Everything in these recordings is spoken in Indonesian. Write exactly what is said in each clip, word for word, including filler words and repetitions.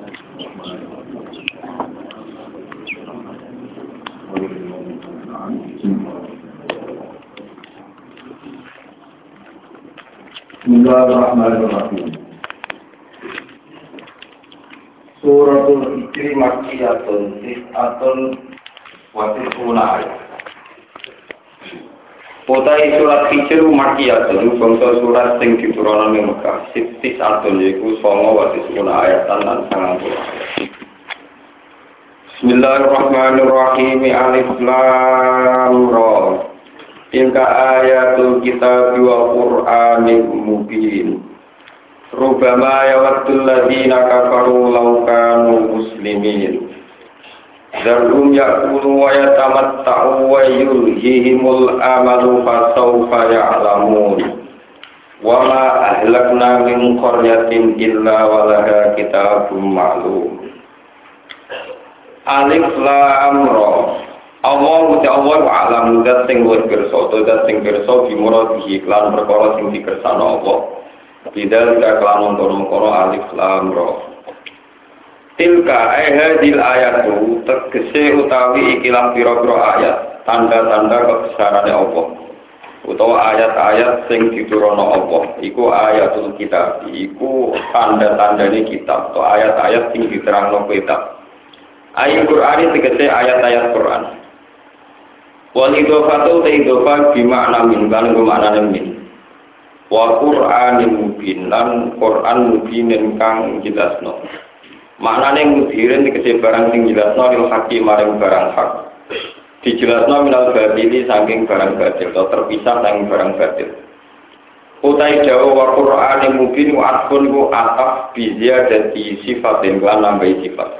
Bismillahirrahmanirrahim. Suratul Hijri Makkiyatun Tis'atun wa tis'una ayat. Utai surat Hijri Makkiyatun bangsa surat sing diturunkan ing Mekah. Tis'atun yaiku songo wa tis'una ayat lan sangang puluh. Bismillahirrahmanirrahim. Alif Lam Ra. Tilka ayatul kitab wa Qur'anin mubin. Rubama yawaddul ladzina kafaru law kanu muslimin. Zarhum ya'kulu wa yatamatta'u wa yulhihimul amalu fasawfa ya'lamun. Wa ma ahlakna min qaryatin illa walaha kitabun ma'lum. Alif Lam Ra. Allah uti Allah wa alam zat sing luwih pirsa utawa zat sing pirsa bimuradihi lan perkara sing dikersakno Allah. Bidal ka kelamun kono-kono alif lam ra. Tilka ayhatil ayatu tegese utawi ikilah pira-pira ayat, tanda-tanda kebesarane Allah. Utawa ayat-ayat sing diturunno Allah, iku ayatul kitab, iku tanda-tandane kitab atau ayat-ayat sing diterangno kitab. Ayat Qur'an tegese ayat-ayat Qur'an. Wal idhofatu ta idhofa bi makna min kan maknane min. Wa Qur'anin mubin lan Qur'an mubin kang jelasno. Maknane mudirin tegese barang sing jelasno lil hakim maring barang hak. Dijelasno minal batili saking barang batil atau terpisah saking barang batil. Utai dawa wa Qur'anin mubin wa atfun ku ataf bi ziyadati sifatin lan nambahi sifat.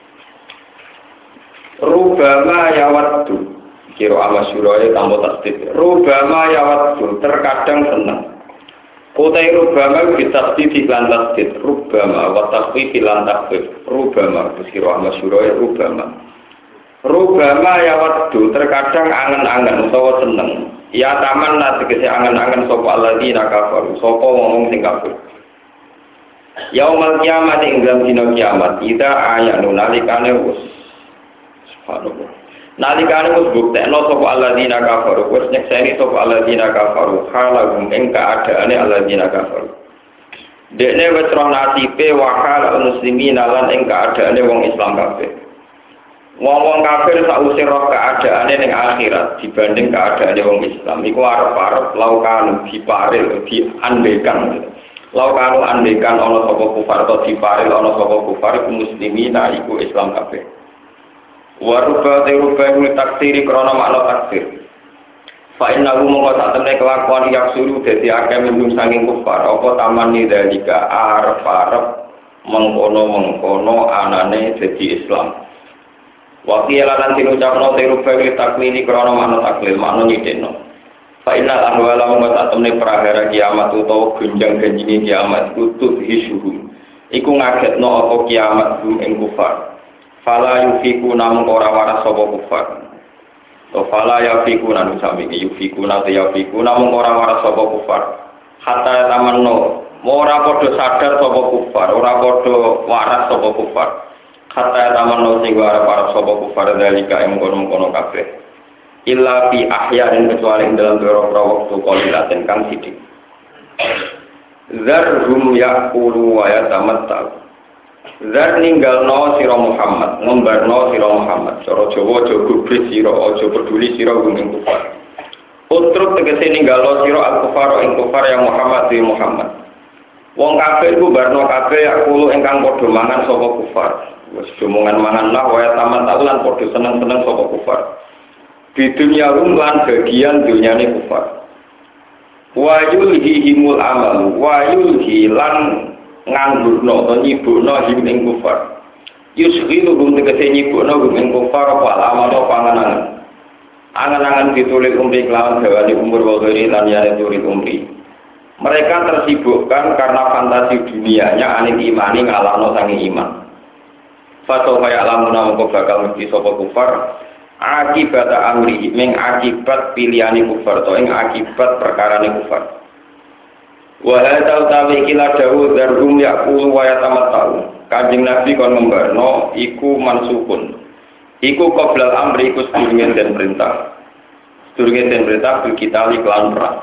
Rubama yawaddu kira amasyuraya tambah tasdid. Rubama yawaddu terkadang senang. Utai rubama bitasdid lan tasdid. Rubama wa takhfif lan takhfif. Rubama kira amasyuraya rubama. Rubama yawaddu terkadang angen-angen utawa seneng. Ya taman la tegese angen-angen sapa alladzina kafaru. Sapa wong sing kafir. Yaumal kiamat ing dalam dina kiamat kita ayanu nalikane wis subhanallah. Nalikane wis buktekno sapa alladzina kafaru, wis nyekseni sapa alladzina kafaru, halahum ing kaadaane alladzina kafaru. Dekne wis roh nasibe wakal muslimin lan ing kaadaane wong Islam kabeh. Wong-wong kafir sausé roh kaadaane ning akhirat dibanding kaadaane wong Islam iku arep-arep laukan diparil diandekan. Laukan andekan ana sapa kufar atau diparil ana sapa kufar muslimin iku Islam kabeh. Waruba teruba ini taksiri krono makna taksir. Fa inna hu mongko sak temne kelakuan yak suruh dadi akeh minum saking kufar apa taman nidalika arep-arep mengkono-mengkono anane dadi Islam. Wa qila lan diucapno teruba ini taklili krono makna taklil makna nyideno. Fa inna ahwala mongko sak temne prahara kiamat utawa gunjang-ganjine kiamat kutub hisuhum. Iku ngagetno apa kiamat hum ing kufar. Fala yufiku namun ora waras sapa kufar. To fala yafiku nanu sami yufiku nate yafiku namun ora waras sapa kufar. Hatta tamanno ora padha sadar sapa kufar, ora padha waras sapa kufar. Hatta tamanno sing ora waras sapa kufar dalika ing kono-kono kabeh. Illa fi ahyain kecuali dalam beberapa waktu qalilaten kang sithik. Zarhum yaqulu wa yatamatta'u. Zar ninggalno sira Muhammad, ngembarno sira Muhammad. Cara Jawa aja gubris sira, aja peduli sira ing kufar. Utruk tegese ninggalno sira al-kufar ing kufar yang Muhammad di Muhammad. Wong kafir ku barno kabeh akulo ingkang padha mangan sapa kufar. Wis omongan mangan lah wae taman lan padha seneng-seneng sapa kufar. Di dunia lan bagian dunyane kufar. Wa yulhihimul amal, wa yulhilan nganggurno atau nyibukno him ing kufar. Yusghilu hum tegese nyibukno hum ing kufar apa amal apa panganan. Angan-angan ditulis umri kelawan dawane umur wa ghairi lan ya tulis umri. Mereka tersibukkan karena fantasi dunianya aning imani ngalahno sange iman. Fato kaya lamuna mongko bakal mesti sapa kufar akibat amri ming akibat pilihane kufar to ing akibat perkarane kufar. Wa hadza utawi kila dawu zarhum yaqulu wa yatamatta'u Kanjeng Nabi kon ngembarno iku mansukun. Iku qoblal amri iku sedurunge den perintah. Sedurunge den perintah bil kita liklan perang.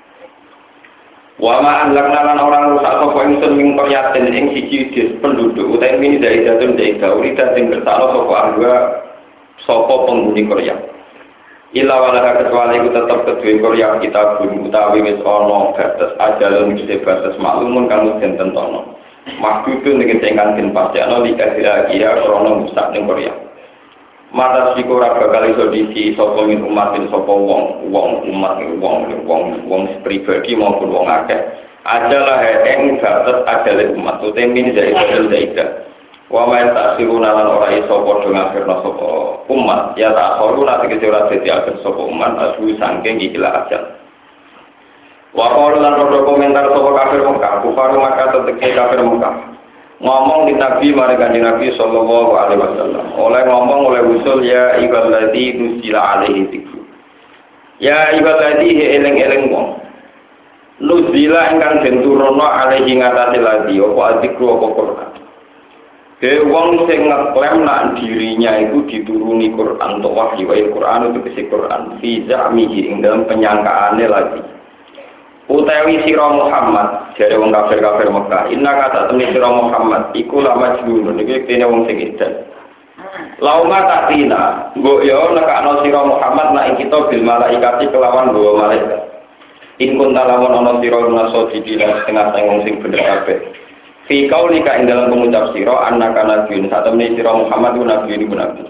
Wa ma anlakna lan orang rusak sapa ingsun ing qaryatin ing siji des penduduk utawi mini dari jatun dari gauri sing bersalo sapa angga sapa penghuni qarya. Ila wala kecuali ku tetep kedue qarya kita bumi utawi wis ana batas ajalun wis batas maklumun kang den tentono. Maksudun dengan tingkat dan pasti ana dikasih kira krono musak ning Korea. Mata siku ora bakal iso disi sapa min umat sapa wong, wong umat wong wong wong pribadi maupun wong akeh. Adalah ing batas ajale umat utawa min dari badal daida. Wa ma tasiruna lan ora iso padha ngafirna sapa umat ya tak khoru nanti kece ora dadi akhir sapa umat asu saking ikhlas ajal. Wa qalu lan rodo komentar sapa kafir Mekah, kufar Mekah teteke kafir Mekah. Ngomong di Nabi mari Kanjeng Nabi sallallahu alaihi wasallam. Oleh ngomong oleh usul ya ibadati nusila alaihi dzikru. Ya ibadati eling-eling wong. Nusila ingkang den turono alaihi ngatasi lagi apa dzikru apa Quran. Ke wong sing ngeklaim nak dirinya itu dituruni Quran atau wahyu Quran itu kese Quran fi za'mihi ing dalam penyangkaane lagi. Utawi sira Muhammad jare wong kafir-kafir Mekah inna kata temne sira Muhammad iku la majnun iki kene wong sing edan lauma tatina mbok yo nekakno sira Muhammad nek kita bil malaikati kelawan bawa malaikat in kun lamun ana sira naso dikira setengah sing wong sing bener kabeh fi kaulika ing dalam pengucap sira annaka nabiyyun sak temne sira Muhammad ku nabi iku nabi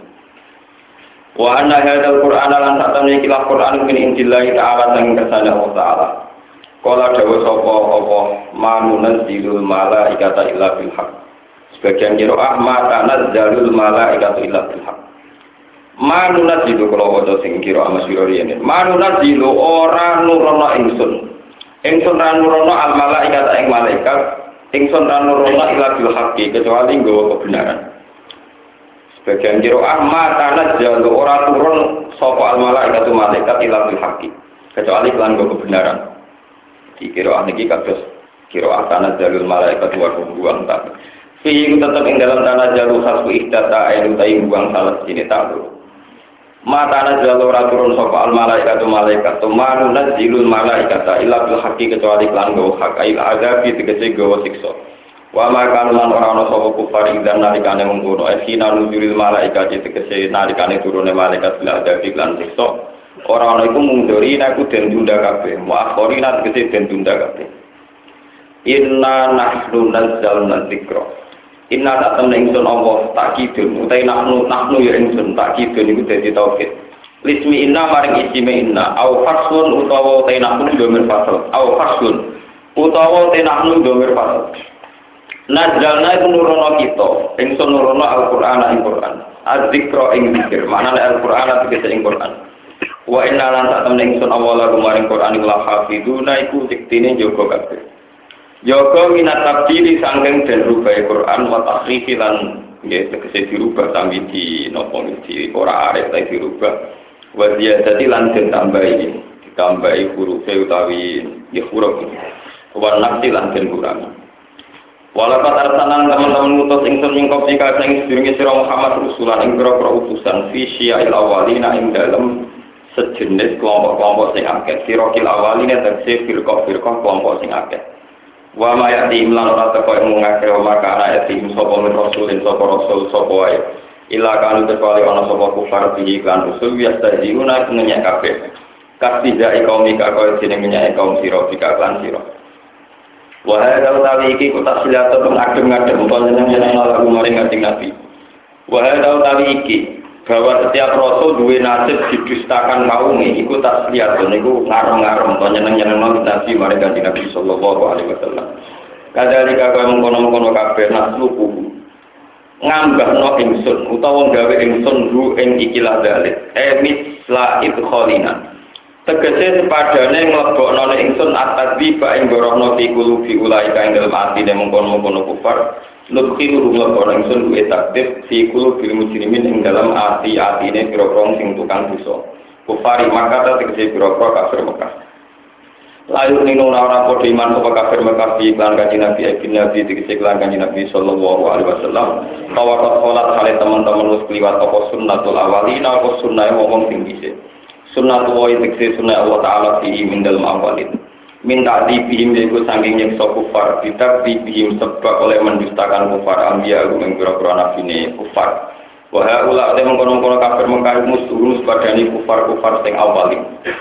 wa anna hadzal qur'ana lan sak temne iki Qur'an min indillahi ta'ala sang kersane Allah taala. Kala dawa sapa apa manunaz zilul malaikata illa bil haq. Sebagian qiraah ma tanazzalul malaikatu illa bil haq. Manunaz zilu kala waca sing qiraah masyhur yen. Manunaz zilu ora nurono ingsun. Ingsun ra nurono al malaikata ing malaikat, ingsun ra nurono illa bil haqqi kecuali nggawa kebenaran. Sebagian qiraah ma tanazzalu ora turun sapa al malaikatu malaikat illa bil haqqi kecuali lan nggawa kebenaran. Di kiroah niki kados kiroah tanah jalul malaikat wa buang tak. Fi iku tetep ing dalam tanah jalul khasbu ihdata ayu ta'i buang salah sini tahu. Ma tanah jalul ora turun sapa al malaikat malaikat tumanu nazilul malaikata illa bil haqqi kecuali lan go hak ail azabi tegese go siksa. Wa ma kan lan ora ana sapa kufar dan nalikane mungkono esina nuzulil malaikat tegese nalikane turune malaikat bil azabi lan siksa. Orang-orang itu mungdori aku dan tunda kabeh, muakhori nanti kese dan tunda kabeh. Inna nahnu nazzalna dzikra. Inna tak temen ingsun Allah takidun, utai nahnu nahnu ya ingsun takidun iku dadi tauhid. Lismi inna maring isime inna, au fasun utawa utai nahnu domir fasal, au fasun utawa utai nahnu domir fasal. Nazzalna iku nurono kita, ingsun nurono Al-Qur'an ing Qur'an. Az-dzikra ing dzikir, maknane Al-Qur'an tegese ing Qur'an. Wa inna lan tak temen ingsun awala kumaring Qur'an la hafizuna iku diktine jaga kabeh. Jaga minat tabdili sangking den rubah Qur'an wa takhrifi lan nggih tegese dirubah sambil di napa di ora arep ta dirubah. Wa ziyadati lan den tambahi, ditambahi huruf utawi ya huruf. Wa nafsi lan den kurangi. Walakat arsalan teman-teman ngutus ingsun ing kopi kasing sedurunge sira Muhammad rusulan ing pira-pira utusan fi syia'il awalina ing dalem sejenis kelompok-kelompok sing akeh sirokil awaline tegese firqah-firqah kelompok sing akeh wa ma ya'ti imlan ora teko ing ngakeh maka ana ya'ti sapa min rasulin sapa rasul sapa wae ila kanu kecuali ana sapa kufar bihi kan rasul yastahziuna ngenyek kabeh kastija kaum ika kaya jeneng ngenyek kaum sira bika lan sira wa hadza utawi iki kota silatu ngadem-ngadem panjenengan lagu maring kanjeng Nabi wa hadza utawi iki bahwa setiap rasul duwe nasib didustakan kaumnya iku tak lihat niku ngarem-ngarem panjenengan Nabi mari kanjeng Nabi sallallahu alaihi wasallam kadhalika kaya mengkono-mengkono kabeh nasluku ngambahno ingsun utawa gawe ingsun ru ing ikilah dalil emis la idkhalina tegese sepadane nglebokno ingsun atadzi ba ing gorohno fi qulubi ulaika ing dalem atine mengkono-mengkono kufar nukhiru nglebokno ingsun duwe takdir fi qulubil mujrimin ing dalam ati-atine pira-pira sing tukang dosa kufari maka tegese pira-pira kafir Mekah Layu nino ora padha iman sapa kafir mekafi iklan kanjeng Nabi ibn Nabi dikece iklan kanjeng Nabi sallallahu alaihi wasallam bahwa salat kali teman-teman wis kliwat apa sunnatul awalina apa sunnahe wong sing dhisik sunnatul wa dikece sunnah Allah taala fi min dalem awalin minta dibihim yaiku saking nyekso kufar tidak dibihim sebab oleh mendustakan kufar ambia ing pira-pira nabine kufar wa haula te mengkono-kono kafir mengkari musuh padani kufar-kufar sing awalin.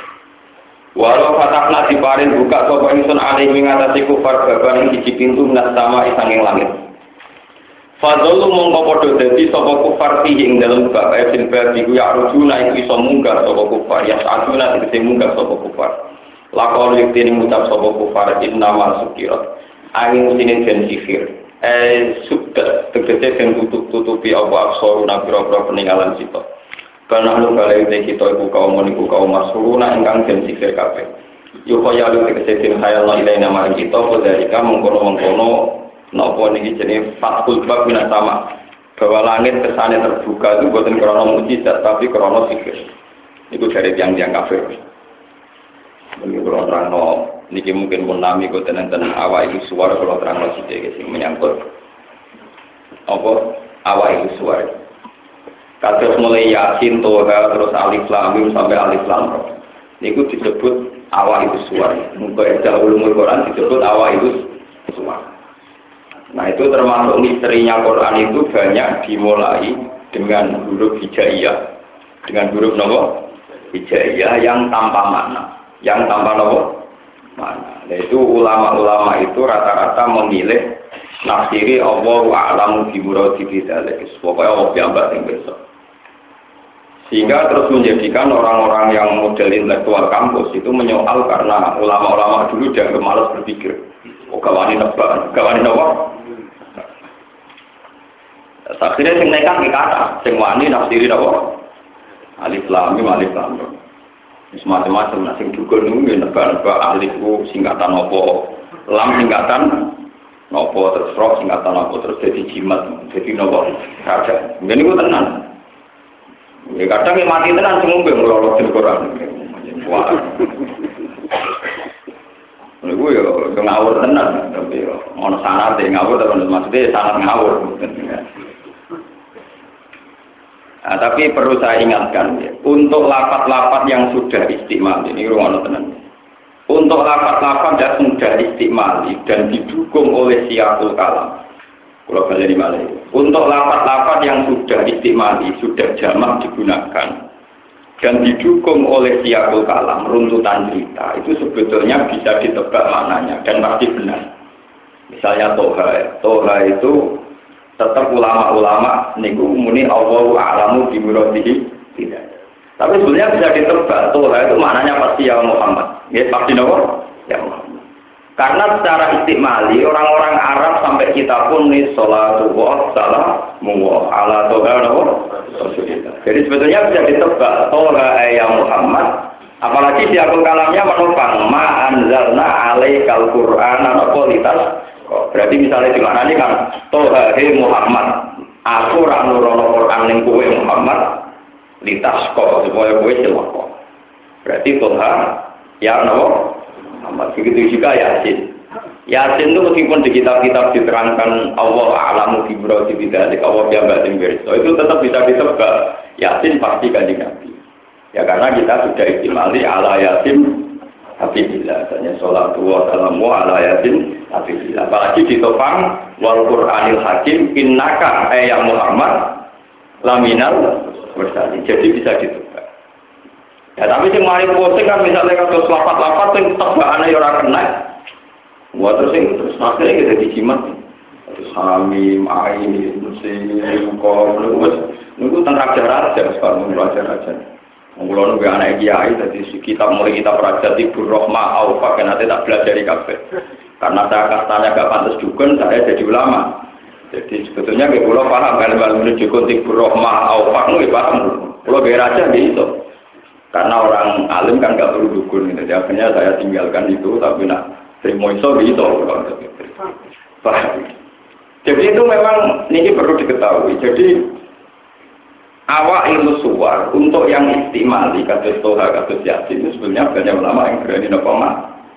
Walau fatakna diparin buka sapa ingsun alih ngatasi kufar baban ing siji pintu minas sama sanging langit. Fadzallu mongko padha dadi sapa kufar ing dalem bab ayat bab iku ya rujuna iku iso munggah sapa kufar ya saduna tegese munggah sapa kufar. Lakon yektene ngucap sapa kufar inna masukirat. Angin sine den sihir. Eh sudah tegese den tutup-tutupi apa aksoruna pira-pira peninggalan kita. Karena lu kali ini kita ibu kaum menipu kaum masuruna ingkang den sikir kabeh. Yo kaya lu tegese khayal la ilaha nama kita padha mengkono-mengkono napa niki jenenge fatul bab minas sama. Bahwa langit kesane terbuka itu bukan krana mukjizat tapi krana sikir. Iku dari tiang-tiang kafir. Mungkin kalau terangno niki mungkin pun nami kok tenen-tenen awak iki suara kalau terangno sithik sing menyangkut apa awak iki suara. Kados mulai Yasin, Toha, terus Alif Lam Mim sampai Alif Lam Ra. Niku disebut awal itu suara. Muga eda ulumul Quran disebut awal itu suara. Nah itu termasuk misterinya Quran itu banyak dimulai dengan huruf hijaiyah, dengan huruf nopo hijaiyah yang tanpa makna, yang tanpa nopo makna. Nah itu ulama-ulama itu rata-rata memilih nafsiri Allahu a'lamu bi muradi bidzalik. Pokoknya Allah piyambak sing besok. Sehingga terus menjadikan orang-orang yang model intelektual kampus itu menyoal karena ulama-ulama dulu dianggap malas berpikir. Oh gawani nebak, gawani nopo. Akhirnya sing nekat iki kata, sing wani nafsiri nopo? Alif lam mim alif lam ra. Wis macam-macam nah sing dukun niku nebak-nebak alif ku singkatan nopo, lam singkatan nopo terus ra singkatan nopo terus jadi jimat, jadi nopo raja. Ngene niku tenan. Ya kadang yang mati tenan semua yang melolot di Quran. Wah. Niku yo ngawur tenan, tapi yo ono sanad e ngawur tapi maksudnya sanad ngawur. Nah, tapi perlu saya ingatkan ya, untuk lapat-lapat yang sudah istimal ini ruang tenan. Untuk lapat-lapat yang sudah istimal dan didukung oleh siyaqul kalam. Kalau balik di Malay. Untuk lapat-lapat yang sudah istimali, sudah jamak digunakan dan didukung oleh siyaqul kalam, runtutan cerita, itu sebetulnya bisa ditebak maknanya dan pasti benar. Misalnya Toha, Toha itu tetap ulama-ulama niku muni Allahu a'lamu bi muradihi tidak. Tapi sebenarnya bisa ditebak Toha itu maknanya pasti ya Muhammad. Ya pasti nopo? Ya Muhammad. Karena secara istimali orang-orang Arab sampai kita pun nih sholatu wa salamu ala toha Rasulillah. Jadi sebetulnya bisa ditebak toha ya Muhammad. Apalagi siyaqul kalamnya menopang ma anzalna alaikal qur'ana kualitas. Berarti misalnya di mana ini kan toha he Muhammad. Aku ra nurono Quran ning kowe Muhammad litas kok supaya kowe celaka. Berarti toha ya napa? Muhammad. Begitu juga Yasin. Yasin itu meskipun di kitab-kitab diterangkan Allah a'lamu bi muradi bidzalik, Allah piyambak sing pirsa, itu tetap bisa ditebak. Yasin pasti kanjeng Nabi. Ya karena kita sudah istimali ala Yasin Hafibillah. Misalnya sholatu wa salamu ala Yasin Hafibillah. Apalagi ditopang wal Qur'anil Hakim innaka ya Muhammad laminal mursalin. Jadi bisa ditebak. Ya tapi sing mari posting kan misalnya kados lapat-lapat sing tebakane ya ora kena. Wah terus sing terus akhirnya kita dijimat. Terus hamim, ain, musim, kok wis niku teng raja-raja sekarang raja-raja. Wong kula nunggu anak kiai dadi kita mulai kita raja Tibur Rahmah Aufa kan nanti tak belajar di kafe. Karena saya kastanya gak pantas dukun, saya jadi ulama. Jadi sebetulnya kayak kula paham kalau menuju Tibur Rahmah Aufa nggih paham. Kula ge raja gitu. Karena orang alim kan nggak perlu dukun, gitu. Akhirnya saya tinggalkan itu, tapi nak terima iso gitu. Jadi itu memang ini perlu diketahui. Jadi awak ilmu suwar untuk yang istimali kados Toha kados Yasin itu sebenarnya banyak ulama yang berani nopoma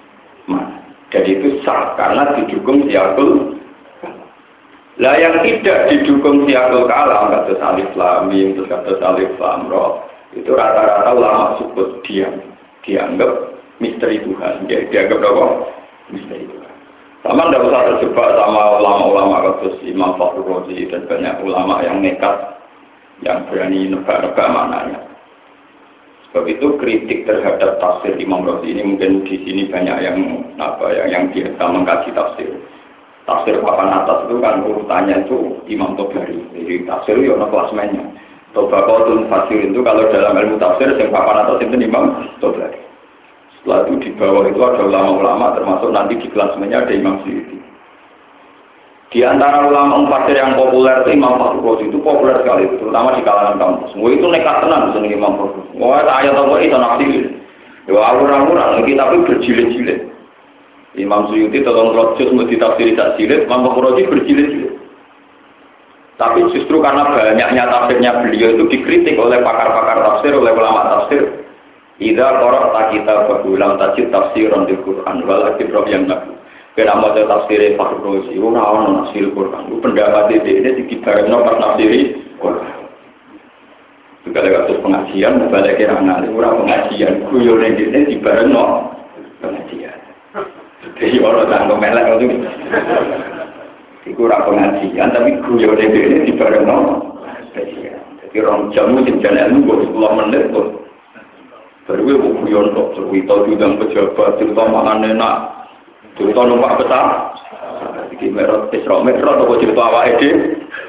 mana. Jadi itu sah karena didukung siakul. Lah yang tidak didukung siakul kalam kata alif lam mim terus kata alif lam ra itu rata-rata ulama sebut diam dianggap misteri Tuhan. Dia dianggap apa? Misteri Tuhan. Sama tidak usah terjebak sama ulama-ulama kasus Imam Fakhrul Razi dan banyak ulama yang nekat yang berani nebak-nebak maknanya. Sebab itu kritik terhadap tafsir Imam Razi ini mungkin di sini banyak yang apa ya yang biasa mengkaji tafsir. Tafsir papan atas itu kan urutannya itu Imam Tobari. Jadi tafsir itu ada klasmennya. Tobaqatul Fasir itu kalau dalam ilmu tafsir yang papan atas itu Imam Tobari. Setelah itu di bawah itu ada ulama-ulama termasuk nanti di klasmennya ada Imam Suyuti. Di antara ulama mufassir yang populer itu Imam Fakhrul Razi itu populer sekali, terutama di kalangan kampus. Semua itu nekat tenan seneng Imam Fakhrul. Wah, ayat apa itu nafsir. Ya orang-orang lagi tapi berjilid-jilid. Imam Suyuti tolong rojus mau ditafsiri tak jilid, Imam Fakhrul Razi berjilid-jilid. Tapi justru karena banyaknya tafsirnya beliau itu dikritik oleh pakar-pakar tafsir, oleh ulama tafsir. Idza qara'ta kitabahu lam tajid tafsiran bil Qur'an wal kitab yang nabi. Kena mau tafsir Fakhrul Razi, ora ono tafsir Quran. Ku pendapat ini dikibarno pas tafsir Quran. Juga ada kasus pengajian, balik kira ngali ora pengajian, guyone dene dibarno pengajian. Jadi orang tanggo melek itu. Iku ora pengajian tapi guyone dene dibarno pengajian. Jadi rong jam sing jalan ilmu sepuluh menit kok. Baru gue guyon kok cerita bidang pejabat, cerita makan enak. Cerita numpak besar, iki merot Isra Mi'raj atau cerita awake dhewe.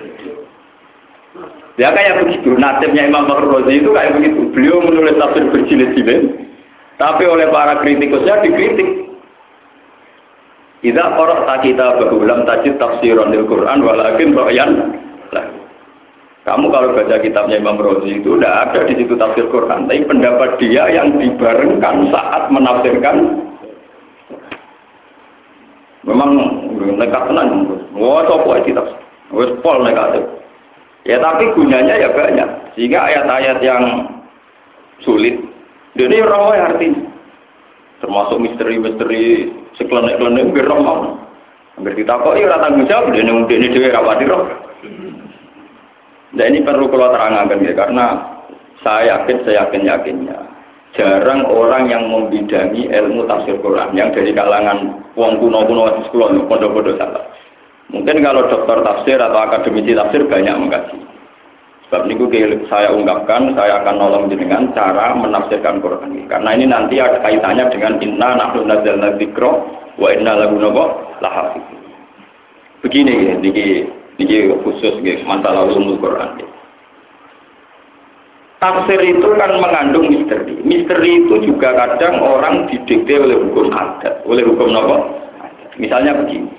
Ya kayak begitu, nasibnya Imam Fakhrul Razi itu kayak begitu. Beliau menulis tafsir berjilid-jilid, tapi oleh para kritikusnya dikritik. Idza qara'ta kitabahu lam tajid tafsiran lil Qur'an walakin ra'yan. Kamu kalau baca kitabnya Imam Razi itu tidak ada di situ tafsir Quran, tapi pendapat dia yang dibarengkan saat menafsirkan. Memang nekat tenan. Wah, coba kita wis pol negatif. Ya tapi gunanya ya banyak. Sehingga ayat-ayat yang sulit ini roh artinya. Termasuk misteri-misteri seklenek-klenek nggih roh mau. Angger ditakoki ora tanggung jawab dene ini dhewe ra pati roh. Nah ini perlu kalau terangkan ya karena saya yakin saya yakin yakinnya jarang orang yang membidangi ilmu tafsir Quran yang dari kalangan wong kuno-kuno di sekolah pondok-pondok salah. Mungkin kalau dokter tafsir atau akademisi tafsir banyak mengkaji. Sebab ini saya ungkapkan, saya akan nolong dengan cara menafsirkan Quran ini. Karena ini nanti ada kaitannya dengan inna nahnu nazzalna dzikra wa inna lahu lahafizun. Begini ini ini khusus masalah ulumul Quran. Tafsir itu kan mengandung misteri. Misteri itu juga kadang orang didikte oleh hukum adat, oleh hukum apa? Misalnya begini.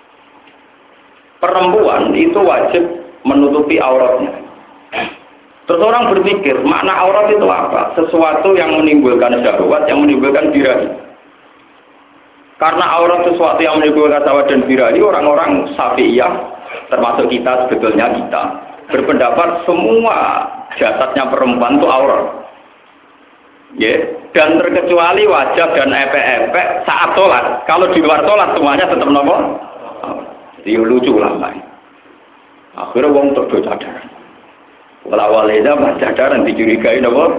Perempuan itu wajib menutupi auratnya. Terus orang berpikir, makna aurat itu apa? Sesuatu yang menimbulkan syahwat, yang menimbulkan birahi. Karena aurat sesuatu yang menimbulkan syahwat dan birahi, orang-orang Syafi'iyah, termasuk kita sebetulnya kita, berpendapat semua jasadnya perempuan itu aurat. Ya, dan terkecuali wajah dan epek-epek saat sholat. Kalau di luar sholat semuanya tetap nopo. Jadi lucu lah, Mbak. Akhirnya wong terdo cadaran. Walawalnya mah cadaran dicurigai nopo.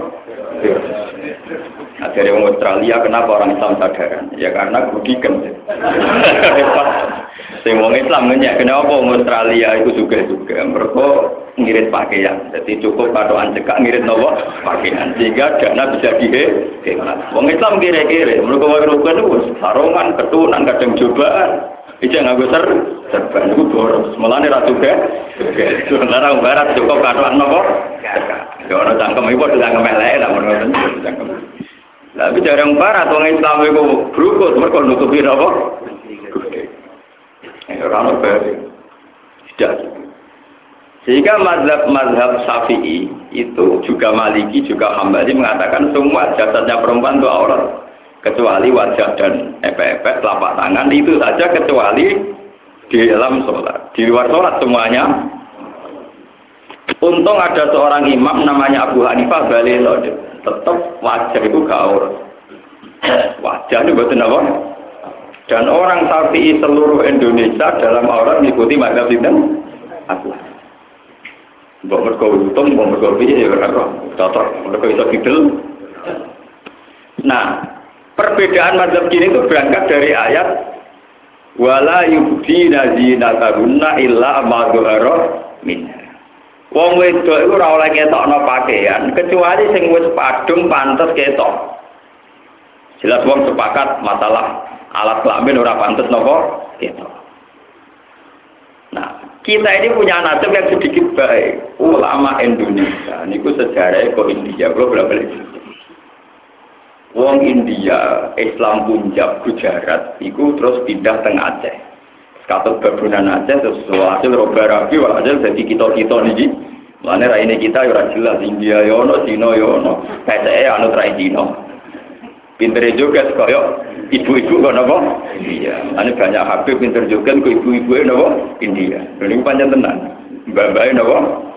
Nah, dari orang Australia kenapa orang Islam cadaran? Ya karena rugikan. Semua Islam nanya kenapa orang Australia itu juga juga mereka ngirit pakaian. Jadi cukup padoan cekak ngirit nopo pakaian sehingga dana bisa dihemat. Orang Islam kira-kira mereka warukan itu sarungan, ketunan, kadang cobaan. Itu nggak besar, serban itu boros. Malah nih ratu ke, sementara barat cukup padoan nopo. Ya orang cangkem itu udah cangkem lain, namun orang cangkem. Tapi jarang barat orang Islam itu berukut, mereka nutupi nopo. Orang baru tidak. Sehingga mazhab-mazhab Syafi'i itu juga Maliki juga Hambali mengatakan semua jasadnya perempuan itu aurat kecuali wajah dan epek-epek telapak tangan itu saja kecuali di dalam sholat. Di luar sholat semuanya. Untung ada seorang imam namanya Abu Hanifah Balil tetap wajah itu gak aurat. Wajah itu betul apa? Dan orang Syafi'i seluruh Indonesia dalam aurat mengikuti mazhab sinten? Abu Hanifah. Mbok mergo untung, mbok mergo piye ya ora cocok, mergo iso didel. Nah, perbedaan mazhab gini itu berangkat dari ayat wala yubdina zinatahunna illa ma dzahara minha. Wong wedok iku ora oleh ketokno pakaian kecuali sing wis padung pantes ketok. Jelas wong sepakat masalah alat kelamin ora pantes napa ketok. Nah, kita ini punya nasib yang sedikit baik. Ulama Indonesia niku sejarahnya kok India, kalau balik. Wong India, Islam Punjab, Gujarat, iku terus pindah teng Aceh. Katut babunan Aceh terus hasil roba rabi, hasil jadi kita-kita niki. Mane ra ini kita ora jelas India yo ono, Cina yo ono. P C E anut ra Cina. Pintere juga kaya ibu-ibu kok napa? Iya. Ane banyak Habib pinter juga kok ibu-ibu napa? India. Ini panjang tenan. Mbak-mbake napa?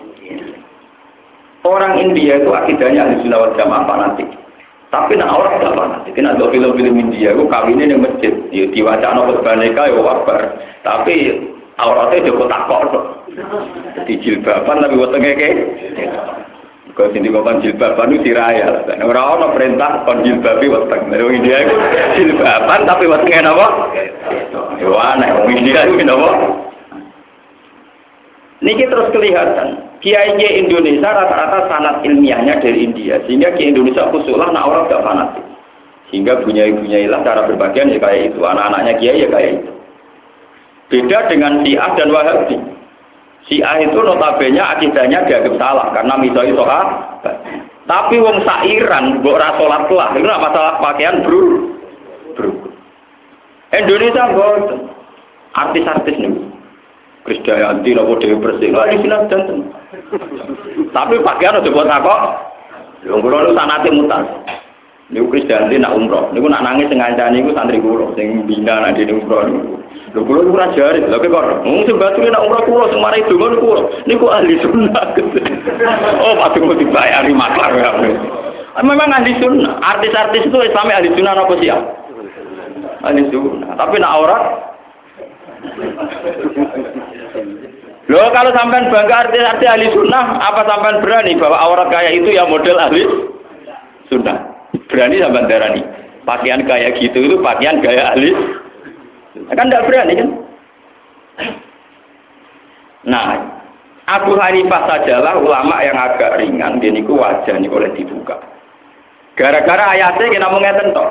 Orang India itu akidahnya ahli sunnah wal jamaah fanatik. Tapi nak orang tidak fanatik. Kena ada film-film India itu kawinnya di masjid. Ya diwacana khutbah-nikah ya wabar. Tapi auratnya juga takok kok. Di jilbaban tapi wetenge ke. Kau sini ngomong jilbaban itu diraya. Orang-orang perintah kon jilbabi weteng. Dari India itu jilbaban tapi wetenge apa? Ya aneh. Orang India itu apa? Niki terus kelihatan. Kiai Indonesia rata-rata sanad ilmiahnya dari India. Sehingga Kiai Indonesia khususlah nak orang tidak fanatik. Sehingga bunyai-bunyailah cara berbagian ya kayak itu. Anak-anaknya Kiai ya kayak itu. Beda dengan Syiah dan Wahabi. Syiah itu notabene akidahnya dianggap salah karena misalnya soal. Tapi wong sairan mbok ra salat lah, itu masalah pakaian bro. Bro. Indonesia mboten. Artis-artis nih. Krisdayanti nopo Dewi Persik. Lah di sini janten. Tapi pakaian udah buat apa? Lho kula nu sanate mutas. Niku Krisdayanti nak umroh. Niku nak nangis sing ngancani niku santri kula sing bina nak dene umroh niku. Lho kula ora jare, lha kok mung sing batu nak umroh kula sing mari donga niku niku ahli sunnah. Oh, patut dibayari maklar ya. Memang ahli sunnah. Artis-artis itu Islam ahli sunnah apa sih? Ahli sunnah. Tapi nak aurat loh, kalau sampean bangga artis-artis ahli sunnah, apa sampean berani bahwa aurat kayak itu ya model ahli sunnah? Berani sampean darani pakaian kayak gitu itu pakaian gaya ahli? Kan tidak berani kan? Nah, Abu Hanifah sajalah ulama yang agak ringan, dia niku wajah niku oleh dibuka. Gara-gara ayatnya kita mau ngeten toh.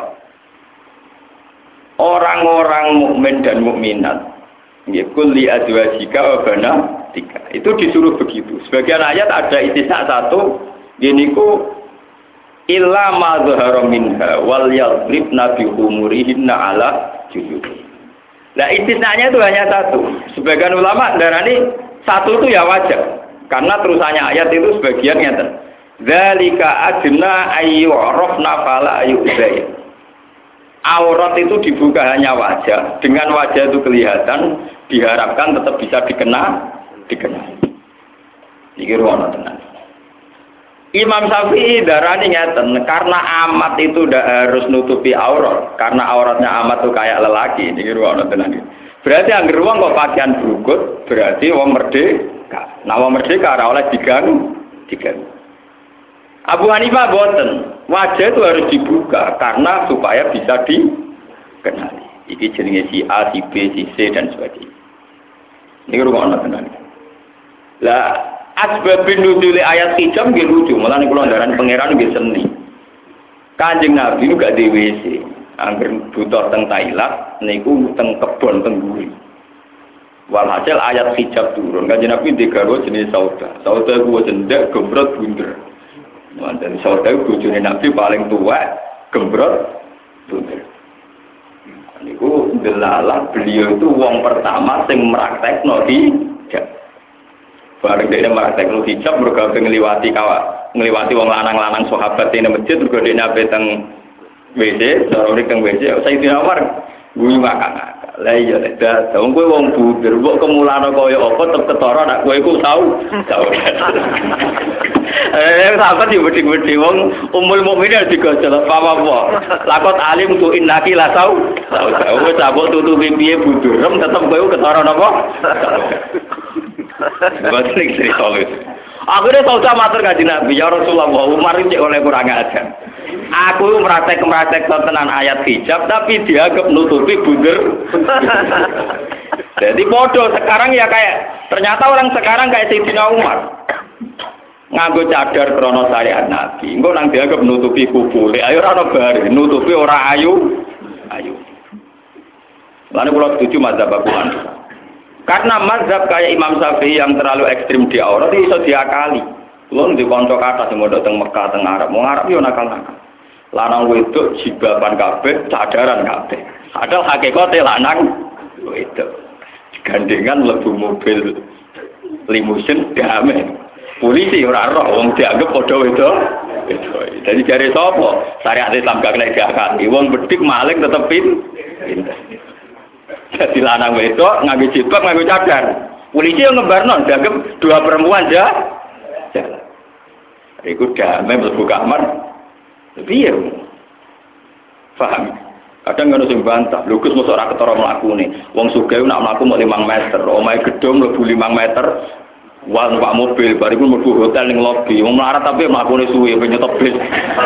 Orang-orang mukmin dan mukminat Yaqul li azwajika wa banatika. Itu disuruh begitu. Sebagian ayat ada istisna satu, yaitu illa ma zahara minha wal yadribna bi umurihinna ala juyubi. Nah, istisnanya itu hanya satu. Sebagian ulama darani satu itu ya wajar. Karena terusannya ayat itu sebagian ngeten. Dzalika adna ayyurafna fala ayyuzay. Aurat itu dibuka hanya wajah, dengan wajah itu kelihatan, diharapkan tetap bisa dikena, dikenal. Iki ruwono tenan. Imam Syafi'i darani ngeten, karena amat itu tidak harus nutupi aurat, karena auratnya amat itu kayak lelaki. Iki ruwono tenan. Berarti anggere wong kok pakaian brukut, berarti wong merdeka. Nah, wong merdeka ora oleh diganggu, diganggu. Abu Hanifah boten, wajah itu harus dibuka karena supaya bisa dikenali. Iki jenenge si A, si B, si C dan sebagainya. Ini rumono tenan. Lah asbabun nuzul ayat hijab nggih lucu, malah niku londaran pangeran nggih seni. Kanjeng Nabi niku gak di W C, angger butuh teng Thailand niku teng kebon teng guri. Walhasil ayat hijab turun, Kanjeng Nabi digawe jenis sauda. Sauda kuwi cendek gembrot bunder. Mantan saudara bojone Nabi paling tua, gembrot, bunder. Niku delalah beliau itu wong pertama sing meraktekno hijab. Bareng dene meraktekno hijab mergo ngliwati kawa, ngliwati wong lanang-lanang sahabat ning masjid mergo dene ape teng W C, sarone teng W C, Sayyidina Umar guyu ngakak-ngakak. Lah iya dah, wong kowe wong bunder, mbok kemulane kaya apa tetep ketara nek kowe iku tau. Tau. Eh, sahabat yo wedi-wedi wong umul mukminin digojol apa-apa. Lakot alim tu innaki la tau. Tau wis sabuk tutupi piye budurem tetep kowe ketara napa? Boten iki soal. Akhirnya saudara matur kanjeng Nabi, ya Rasulullah, Umar iki oleh kurang ajar. Aku meratek-meratek tenan ayat hijab tapi dianggap nutupi bunder. Jadi bodoh sekarang ya kayak ternyata orang sekarang kayak Sayyidina Umar. Nganggo cadar krono syariat Nabi. Engko nang dianggap nutupi kubule. Ayo ora ono bare, nutupi ora ayu. Ayu. Lan kula setuju mazhab Abu Hanifah. Karena mazhab kayak Imam Syafi'i yang terlalu ekstrim di aurat itu iso diakali. Kulo ndek kanca kathah sing mondok teng Mekah teng Arab. Wong Arab yo nakal-nakal. Lanang wedok jibaban kabeh, cadaran kabeh. Padahal hakikate lanang wedok. Gandengan mlebu mobil limusin damai. Polisi ora roh wong dianggap padha wedok. Jadi jare sapa? Syariat Islam gak kena diakali. Wong bedik maling tetep pinter. Jadi lanang wedok nganggo jilbab nganggo cadar. Polisi yang ngebarno dianggap dua perempuan aja. Jalan. Iku damai mlebu kamar. Piye? Paham? Kadang ngono sing bantah, lho Gus mosok ora ketara mlakune. Wong sugih nak mlaku mau lima meter, omahe gedung mlebu lima meter. Wah numpak mobil, bariku mlebu hotel ning lobi. Wong melarat tapi mlakune suwe ben nyetop bis.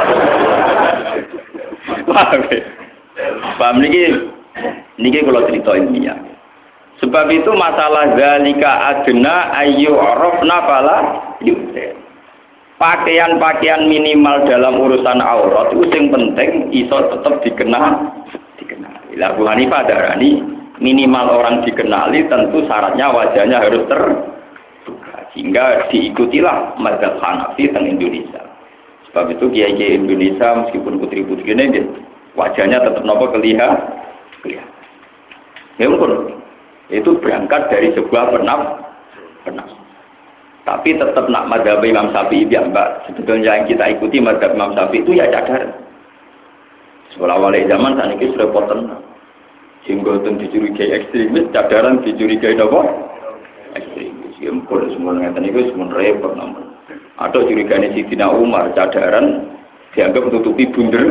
Paham? Paham niki? Niki kula crita ilmiah. Sebab itu masalah zalika adna ayu arafna fala yusir. Pakaian-pakaian minimal dalam urusan aurat itu yang penting iso tetap dikenal, dikenali. Abu Hanifah darani minimal orang dikenali tentu syaratnya wajahnya harus terbuka sehingga diikutilah mazhab Hanafi teng Indonesia. Sebab itu kiai-kiai Indonesia meskipun putri-putri ini wajahnya tetap nopo kelihatan, kelihatan. Ya mungkin itu berangkat dari sebuah penaf, penaf. Tapi tetap nak mazhab Imam Syafi'i ya Mbak. Sebetulnya yang kita ikuti mazhab Imam Syafi'i itu ya cadar. Sekolah wali zaman saat ini sudah poten. Sehingga itu dicurigai ekstremis, cadaran dicurigai apa? Ekstremis. Ya mungkin semua ngeten itu semua repot namun. Atau curiganya Sidina Umar cadaran dianggap menutupi bunder.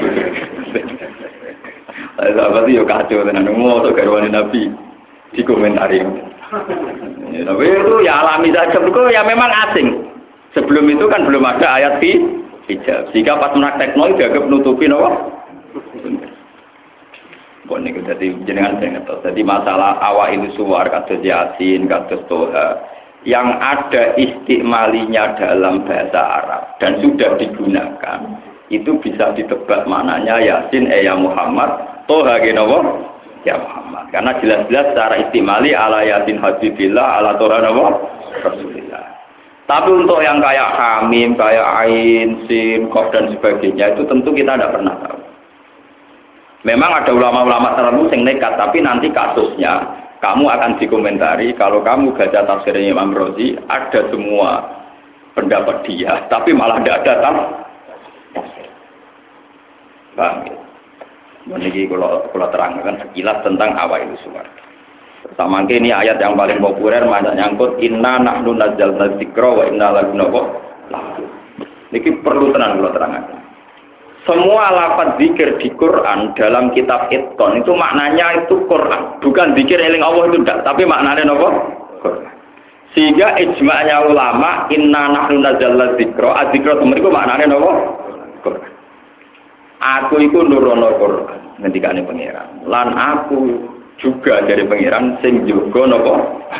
Sahabat itu kacau tenan mau atau garwane Nabi dikomentari. Ya, tapi itu ya alami saja, ya memang asing. Sebelum itu kan belum ada ayat hijab. Jika pas menak teknologi dianggap nutupi apa? Bon niku dadi jenengan sing ngertos. Dadi masalah awak itu suwar kados Yasin, kados Toha yang ada istikmalinya dalam bahasa Arab dan sudah digunakan itu bisa ditebak maknanya Yasin eh ya Muhammad, Toha genapa? Ya Muhammad. Karena jelas-jelas secara istimali ala Yasin Habibillah ala Toha napa? Rasulillah. Tapi untuk yang kayak Hamim, kayak Ain, Sin, Qaf dan sebagainya itu tentu kita tidak pernah tahu. Memang ada ulama-ulama tertentu yang nekat, tapi nanti kasusnya kamu akan dikomentari kalau kamu baca tafsirnya Imam Razi ada semua pendapat dia, tapi malah tidak ada tafsir. Paham ya? Ini kalau kalau terangkan sekilas tentang awal itu suara. Pertama ini ayat yang paling populer banyak nyangkut inna nahnu nazzalna dzikra wa inna lahu lahafidz. Niki perlu tenang kalau terangkan. Semua lafaz zikir di Quran dalam kitab Itqan itu maknanya itu Quran, bukan zikir eling Allah itu tidak, tapi maknanya apa? Quran. Sehingga ijma'nya ulama inna nahnu nazzalna dzikra, adzikra itu maknanya apa? Quran. Aku iku nurono Quran ngendikane pangeran. Lan aku juga dari pangeran sing jaga napa?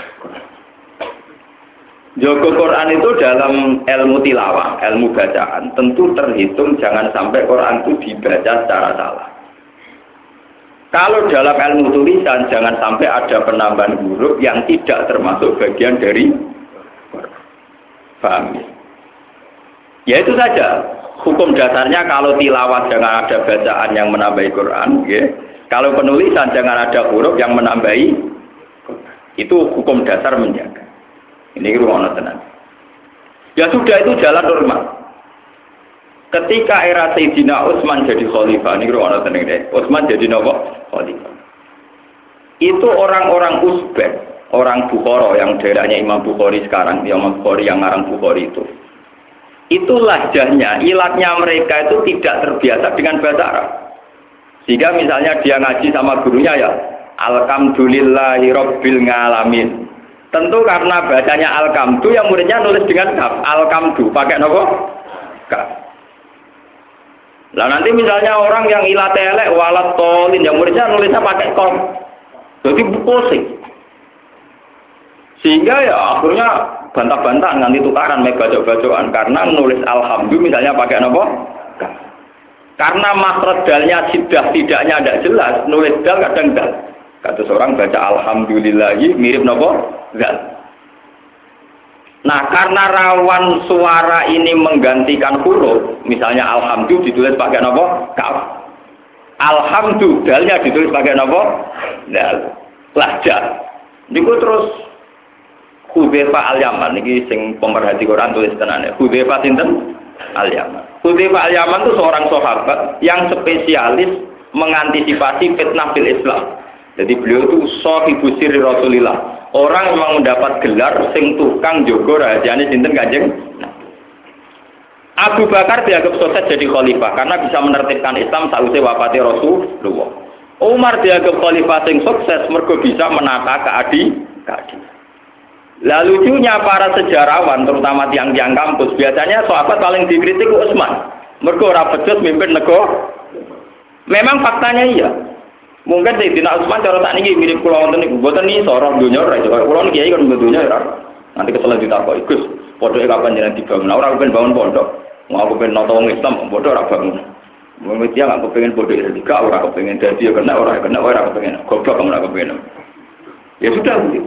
Jaga Quran itu dalam ilmu tilawah, ilmu bacaan, tentu terhitung jangan sampai Quran itu dibaca secara salah. Kalau dalam ilmu tulisan jangan sampai ada penambahan huruf yang tidak termasuk bagian dari Quran. Paham ya? Ya itu saja. Hukum dasarnya kalau tilawah jangan ada bacaan yang menambahi Quran, ya. Kalau penulisan jangan ada huruf yang menambahi Quran. Itu hukum dasar menjaga. Ini ruang tenang. Ya sudah itu jalan normal. Ketika era Sayyidina Utsman jadi khalifah, ini ruang tenang deh. Utsman jadi nopo khalifah. Itu orang-orang Uzbek, orang Bukhara yang daerahnya Imam Bukhari sekarang, Imam Bukhari yang ngarang Bukhari itu. Itu lahjahnya, ilatnya mereka itu tidak terbiasa dengan bahasa Arab. Sehingga misalnya dia ngaji sama gurunya ya, Alhamdulillahi Rabbil Ngalamin. Tentu karena bacanya Alhamdu, yang muridnya nulis dengan kaf, Alhamdu, pakai nopo? Kaf. Lah nanti misalnya orang yang ilatnya elek, walat tolin, yang muridnya nulisnya pakai kom. Jadi pusing. Sehingga ya akhirnya bantah-bantah nanti tukaran me bacok-bacokan karena nulis alhamdulillah misalnya pakai apa? Karena makhraj dalnya sidah tidaknya tidak jelas, nulis dal kadang dal. Kata seorang baca alhamdulillahi mirip napa? Dal. Nah, karena rawan suara ini menggantikan huruf, misalnya alhamdulillah ditulis pakai napa? Kaf. Alhamdulillah dalnya ditulis pakai napa? Dal. Lahjah. Niku terus Hudzaifah Al-Yaman ini sing pemerhati Quran tulis tenane. Hudzaifah sinten? Al-Yaman. Hudzaifah Al-Yaman itu seorang sahabat yang spesialis mengantisipasi fitnah fil Islam. Jadi beliau itu sahibu sirri Rasulillah. Orang yang mendapat gelar sing tukang jaga rahasiane sinten Kanjeng. Abu Bakar dianggap sukses jadi khalifah karena bisa menertibkan Islam sausé wafate Rasulullah. Umar dianggap khalifah sing sukses mergo bisa menata keadilan. Lah lucunya para sejarawan, terutama tiang-tiang kampus, biasanya sahabat paling dikritik Utsman. Mergo ora becus mimpin negara. Memang faktanya iya. Mungkin Sayyidina Utsman cara sakniki mirip kula wonten niku, mboten iso ora donya ora iso. Kula niki kiai kan donya ora. Nanti kesel ditakoki, Gus, pokoke kapan jenengan dibangun? Ora kepen bangun pondok. Mau kepen nata wong Islam, pondok ora bangun. Wong iki gak kepengen pondok Etika, ora kepengen dadi ya kena ora kena ora kepengen. Goblok kamu ora kepengen. Ya sudah begitu.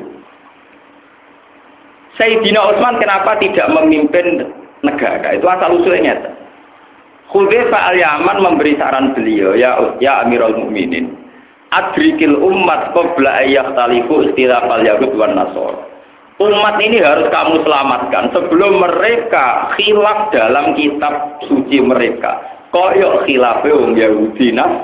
Sayyidina Utsman kenapa tidak memimpin negara? Itu asal usulnya. Hudzaifah Al-Yaman memberi saran beliau, ya ya Amirul Mukminin, adrikil ummat qabla ayyahtalifu istilafal yahud wan nasara. Umat ini harus kamu selamatkan sebelum mereka khilaf dalam kitab suci mereka. Koyok khilafe wong Yahudi nas.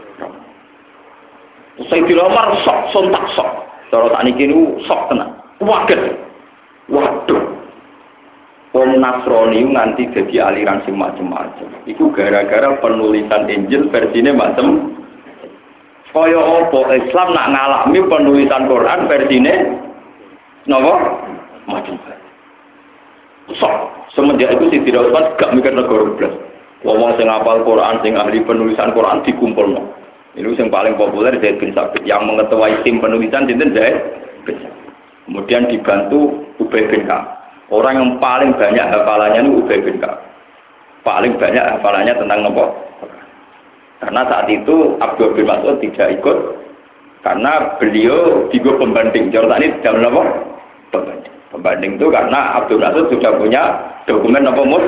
Sayyidina Umar sok sontak sok. Cara sakniki niku sok tenan. Waget. Waduh, wong Nasrani nganti jadi aliran sing macem-macem. Iku gara-gara penulisan Injil versine macem. Kaya apa Islam nak ngalami penulisan Quran versine napa? Macem. Sok, semenjak itu si Sayyidina Utsman gak mikir negara blas. Wong sing hafal Quran, sing ahli penulisan Quran dikumpulno. Ini yang paling populer Zaid bin Sabit yang mengetuai tim penulisan sinten Zaid bin Sabit. Kemudian dibantu Ubay bin Ka'ab. Orang yang paling banyak hafalannya itu Ubay bin Ka'ab. Paling banyak hafalannya tentang nopo. Karena saat itu Abdul bin Mas'ud tidak ikut karena beliau juga pembanding. Jordan ini dalam nopo pembanding. Pembanding itu karena Abdul Mas'ud sudah punya dokumen nopo mus.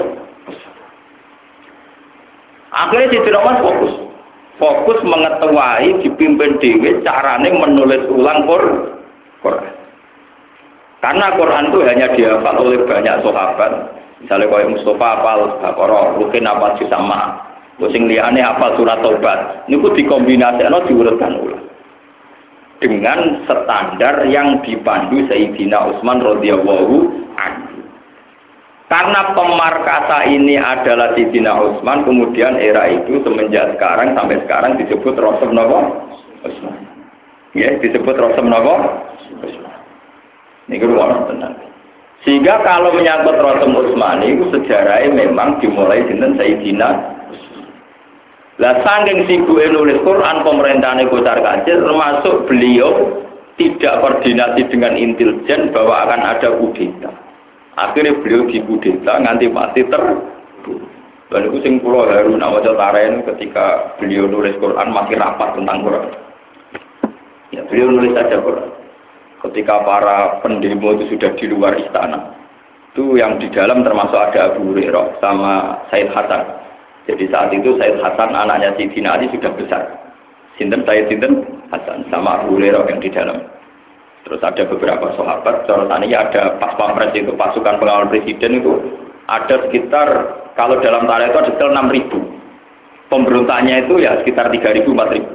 Akhirnya si Umar fokus, fokus mengetuai dipimpin dewi carane menulis ulang Quran. Karena Quran itu hanya dihafal oleh banyak sahabat. Misalnya kayak Mustafa hafal Baqarah, Rukin hafal Jisama, sing liyane hafal surat Taubat. Niku dikombinasikan diurutkan ulang. Dengan standar yang dipandu Sayyidina Utsman radhiyallahu anhu. Karena pemarkasa ini adalah Sayyidina Utsman, kemudian era itu semenjak sekarang sampai sekarang disebut Rasul napa? Utsman. Ya, disebut Rasul napa? Utsman. Ini keruang tenang. Sehingga kalau menyangkut Rasul Utsman itu sejarahnya memang dimulai dengan Sayyidina Utsman. Lah saking sibuke nulis Quran pemerintahane kocar kacir termasuk beliau tidak koordinasi dengan intelijen bahwa akan ada kudeta. Akhirnya beliau dikudeta nganti mati terbunuh. Lalu itu sing kula Harun Awaja Taren ketika beliau nulis Quran masih rapat tentang Quran. Ya beliau nulis saja Quran. Ketika para pendemo itu sudah di luar istana, itu yang di dalam termasuk ada Abu Hurairah sama Said Hasan. Jadi saat itu Said Hasan anaknya Sayyidina Ali sudah besar. Sinten Said Sinten Hasan sama Abu Hurairah yang di dalam. Terus ada beberapa sahabat. Cara tadinya ada pas pampres itu pasukan pengawal presiden itu ada sekitar kalau dalam tarikh itu ada sekitar enam ribu. Pemberontaknya itu ya sekitar tiga ribu empat ribu.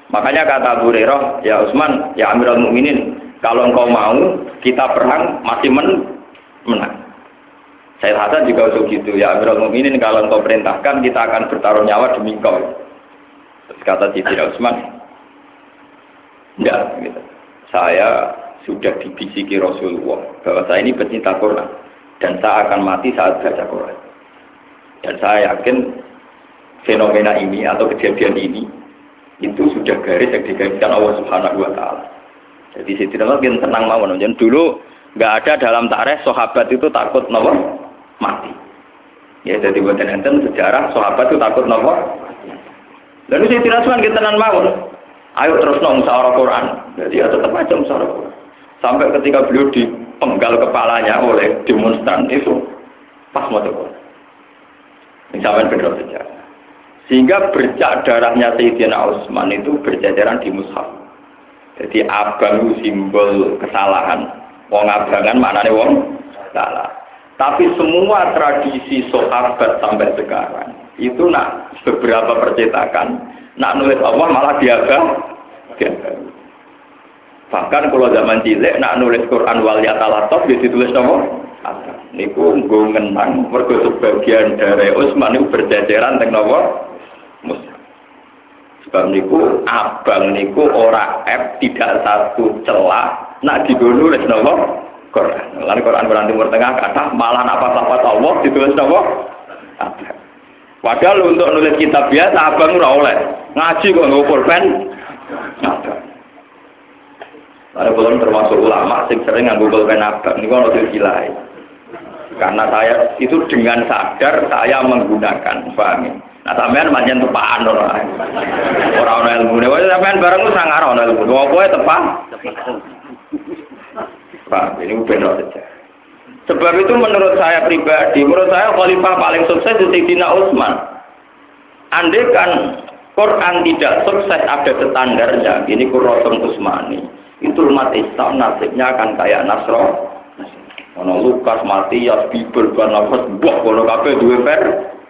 Makanya kata Abu Hurairah, ya Utsman, ya Amirul Mukminin, kalau engkau mau kita perang masih men menang. Said Hasan juga usul gitu, ya Amirul Mukminin, kalau engkau perintahkan kita akan bertaruh nyawa demi engkau. Terus kata Sayyidina Utsman, enggak, gitu. Saya sudah dibisiki Rasulullah bahwa saya ini pecinta Quran dan saya akan mati saat baca Quran. Dan saya yakin fenomena ini atau kejadian ini itu sudah garis yang digariskan Allah Subhanahu wa taala. Jadi Sayyidina Umar tenang mawon. Jangan dulu enggak ada dalam tarikh sahabat itu takut napa mati. Ya jadi buat enten sejarah sahabat itu takut napa. Lalu Sayyidina Umar tenang mawon. Ayo terus nong musyawarah Quran. Jadi ya tetap aja musyawarah Quran. Sampai ketika beliau dipenggal kepalanya oleh demonstran itu pas mau Quran. Ini sampai benar sejarah. Sehingga bercak darahnya Sayyidina Utsman itu berjajaran di mushaf. Jadi abang itu simbol kesalahan. Wong abangan maknanya wong salah. Tapi semua tradisi sahabat sampai sekarang itu nak beberapa percetakan nak nulis Allah malah diaga. Bahkan kalau zaman cilik nak nulis Quran wal yatalataf ya ditulis nama ada. Niku nggo ngenang mergo sebagian dari Utsman itu berjajaran teng napa mushaf. Sebab niku abang niku ora F tidak satu celah nak digo nulis napa Quran. Lan Quran Quran Timur Tengah kata malah apa-apa Allah ditulis napa ada. Padahal untuk nulis kitab biasa abang ora oleh. Ngaji kok nggo pulpen. Ada. Ada belum termasuk ulama sing sering nganggo pulpen abang niku ono silsilah. Karena saya itu dengan sadar saya menggunakan, paham ya? Nah sampean pancen tepaan ora. Ora ono ilmune. Wis sampean bareng wis sangar ono ilmu. Apa ae tepak? Pak, ini benar saja. Sebab itu menurut saya pribadi, menurut saya khalifah paling sukses itu Sayyidina Utsman. Andai kan Quran tidak sukses ada standarnya, ini Qur'an Utsmani. Itu umat Islam nasibnya akan kayak Nasro. Ono Lukas, Matius, Bible, Barnabas, buah kalau kabeh duwe ver.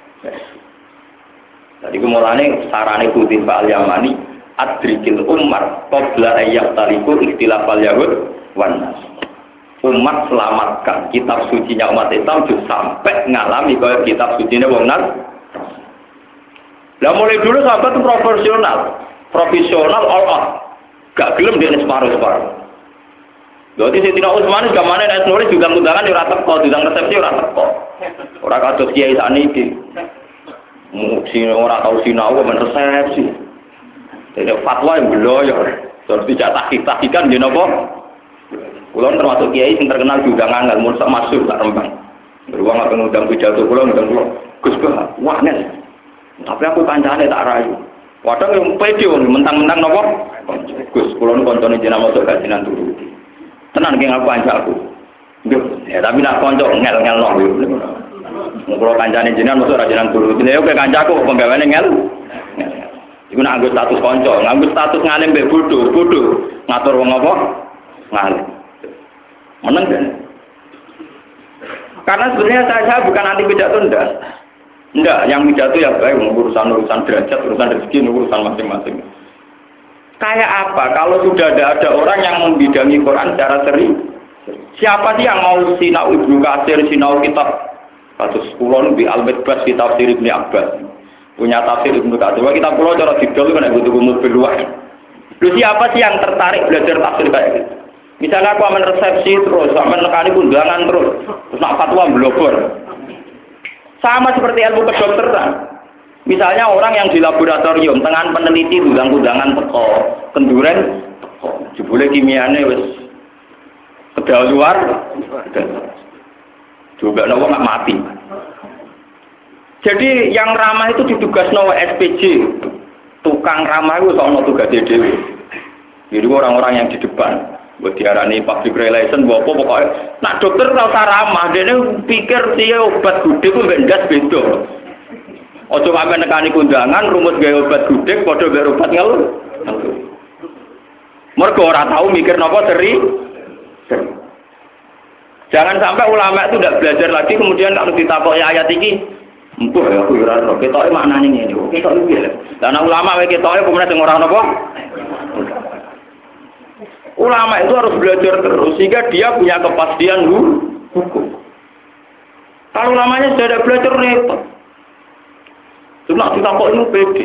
Jadi kemulane sarane Kutib Al-Yamani adrikil ummah qabla ayyat taliku ikhtilafal yahud wan nas. Umat selamatkan kitab sucinya umat Islam sampai ngalami kaya kitab sucinya wong nas. Lah mulai dulu sahabat itu profesional, profesional all out. Gak gelem dia separuh-separuh. Jadi Sayyidina Utsman gamane nek nulis juga undangan ora teko, diundang resepsi ora teko. Ora kados kiai sakniki. Sing ora tau sinau men resepsi. Dene fatwa yang bloyor. Terus dicatat tahqiqan nggih napa? Kula termasuk kiai sing terkenal diundang angel mun sak masuk tak rembang. Beruang apa ngundang pidato kula ngundang kula. Gus Bah, wah nes. Tapi aku kancane tak rayu. Padahal yang pede mentang-mentang napa? Gus, kula nu koncone jenengan motor kajian turuti. Tenan ki ngaku kancaku. Nggih, ya tapi nak kanca ngel-ngelno yo. Ngono kancane jenengan mesti ora jenengan turuti. Ya oke kancaku penggaweane ngel. Iku nak nganggo status kanca, nganggo status ngalim mbek bodho, bodho. Ngatur wong apa? Ngalim. Meneng kan? Karena sebenarnya saya, saya bukan anti pidato ndak. Enggak, yang pidato ya baik urusan-urusan derajat, urusan rezeki, urusan masing-masing. Kayak apa? Kalau sudah ada, ada orang yang membidangi Quran secara seri, siapa sih yang mau sinau Ibnu Katsir, sinau kitab kasus kulon di Al-Midbas kitab tafsir Ibnu Abbas, punya tafsir Ibnu Katsir. Wah kitab kulon cara didol kan butuh umur luas. Lu siapa sih yang tertarik belajar tafsir kayak gitu? Misalnya aku aman resepsi terus, aman nekani undangan terus, terus nak fatwa blogor. Sama seperti ilmu kedokteran. Misalnya orang yang di laboratorium, tengah peneliti udang-udangan teko, kenduren teko, jebule kimiane wis kedaluar, juga nawa nggak mati. Jadi yang ramah itu ditugas nawa S P J, tukang ramah itu soal tugas D D W. Jadi orang-orang yang di depan, buat diarani public relation, bawa pokoknya. Nah dokter tahu ramah, dia pikir dia obat gudeg itu bendas beda. Ojo kami nekani kundangan, rumus gaya obat gudeg, podo gaya obat ngel. Mereka orang tahu mikir nopo seri. seri. Jangan sampai ulama itu tidak belajar lagi, kemudian kalau ditakoki ayat ini, Empuh ya aku ora ora ketoke maknane ngene. Ketok iki lho. Lah nek ulama wae ketoke pemenang sing ora napa? Ulama itu harus belajar terus sehingga dia punya kepastian hukum. Kalau ulamanya sudah ada belajar repot. Cuma ditakoki pede.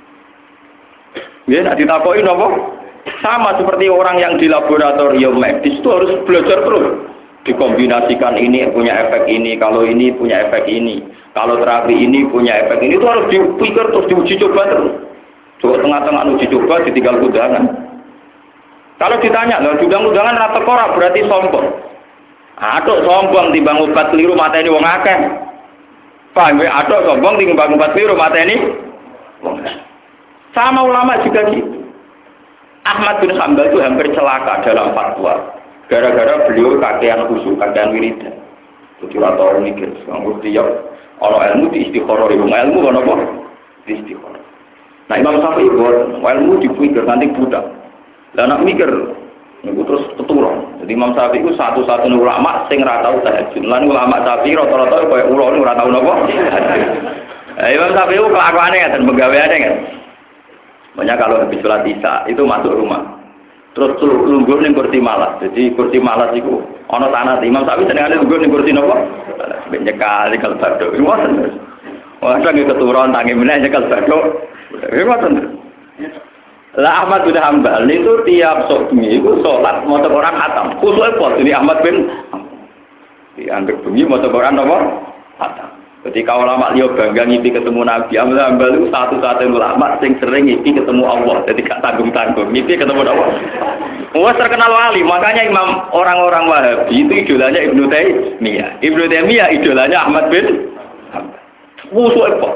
Ya, nak ditakoki napa? Sama seperti orang yang di laboratorium medis itu harus belajar terus. Dikombinasikan ini punya efek ini, kalau ini punya efek ini, kalau terapi ini punya efek ini, itu harus dipikir terus diuji coba terus. Coba tengah-tengah uji coba ditinggal undangan. Kalau ditanya, loh undangan rata korak berarti sombong. Aduh sombong timbang obat keliru mateni wong akeh. Paham ya? Aduh sombong timbang obat keliru mateni wong akeh. Sama ulama juga gitu. Ahmad bin Hanbal itu hampir celaka dalam fatwa. Gara-gara beliau kakean khusyuk, kakean wiridan. Jadi rata orang mikir, nganggur tiap kalau ilmu di istikharah, ilmu kan apa? Di istikharah. Nah Imam Syafi'i buat ilmu dipikir nanti budak. Dan nak mikir, itu terus keturun. Jadi Imam Syafi'i itu satu-satunya ulama sing ora tau tahajud. Lan ulama Syafi'i rata-rata kaya ulama ora tau napa? Imam Syafi'i itu kelakuane ngaten, pegawaiane kan. Banyak kalau habis sholat isya itu masuk rumah. Terus lungguh ning kursi malas. Jadi kursi malas iku ana tanah Imam Syafi'i senengane lungguh ning kursi napa? Ben nyekal kal badhe. Ngoten. Wah, sange keturun tangi meneh nyekal badhe. Ngoten. Lah Ahmad bin Hanbal itu tiap sok bengi iku salat maca Quran khatam. Khusuke apa ini Ahmad bin dianggap bengi maca Quran apa? Khatam. Ketika ulama liya bangga ngipi ketemu Nabi, Ahmad bin Hanbal itu satu-satunya ulama sing sering ngipi ketemu Allah. Jadi gak tanggung-tanggung ngipi ketemu Allah. Wah terkenal wali, makanya imam orang-orang Wahabi itu idolanya Ibnu Taimiyah. Ibnu Taimiyah idolanya Ahmad bin Hanbal. Khusuke apa?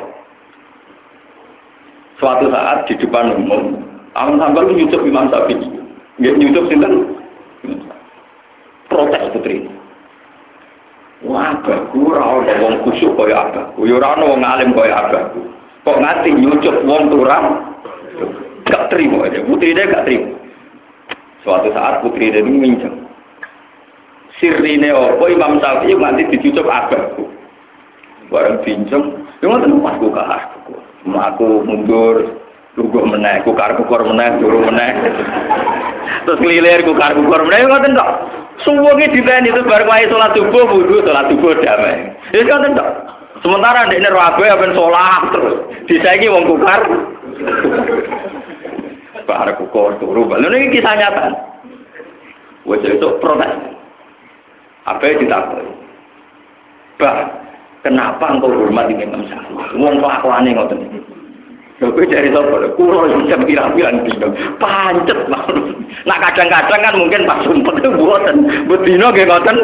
Suatu saat di depan umum Ahmad Hanbal nyucuk Imam Syafi'i. Nggih nyucuk sinten? Protes putri. Wah, aku ora ono wong khusyuk kaya abahku. Ya ora ono wong alim kaya abahku. Kok ngati nyucuk wong turang? Gak terima aja. Putrine gak terima. Suatu saat putrine ini minjem. Sirine opo Imam Syafi'i nganti dicucuk abahku. Bareng pinjem, yo ngoten pasku kahku. Aku mundur lugu meneh, kukar-kukur meneh, turu meneh. Terus ngelilir kukar-kukur meneh, ngoten tok. Suwunge diteni itu bareng wae salat subuh, wudu, salat subuh damai. Wis ngoten tok. Sementara ndekne rabe apen salat terus. Disaiki wong kukar. Bar kukur turu. Lha niki kisah nyata. Wes itu protes. Apa ditakoki? Bah, kenapa engkau hormat Imam Syafi'i? Wong kelakuane ngoten iki. Lho kowe cari sapa? Kulo jam pirang-pirang dino. Pancet banget. Nah kadang-kadang kan mungkin pas sumpet itu mboten. Bedino nggih ngoten.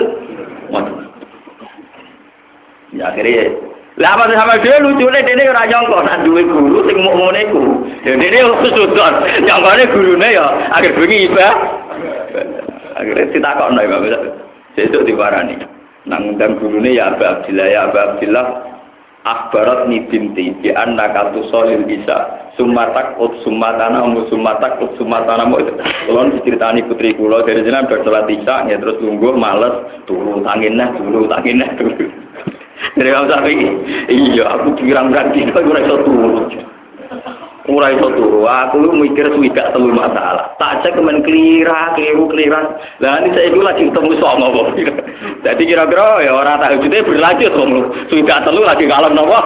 Ya akhirnya lah apa sama dia lucune dene ora nyangka nek duwe guru sing mok ngene iku. Ya dene sudon. Nyangkane gurune ya akhir bengi ibah. Akhirnya ditakokno ya Bapak. Sesuk diwarani. Nang undang gurune ya Abu Abdillah ya Abu Abdillah akhbarat ni binti bi annaka tusolil isa sumatak ut sumatana um sumatak ut sumatana mo itu kulon diceritani putri kula dari jenengan bar salat isya ya terus lungguh males turu tanginah turu tanginah turu dari Imam Syafi'i iya aku pirang-pirang dino ora iso turu ora iso turu aku mikir swidak telu masalah tak cek kemen klira kliru kliran lah ini saya lagi ketemu songo kok jadi kira-kira ya orang tak ujute berlanjut wong swidak telu lagi kalem napa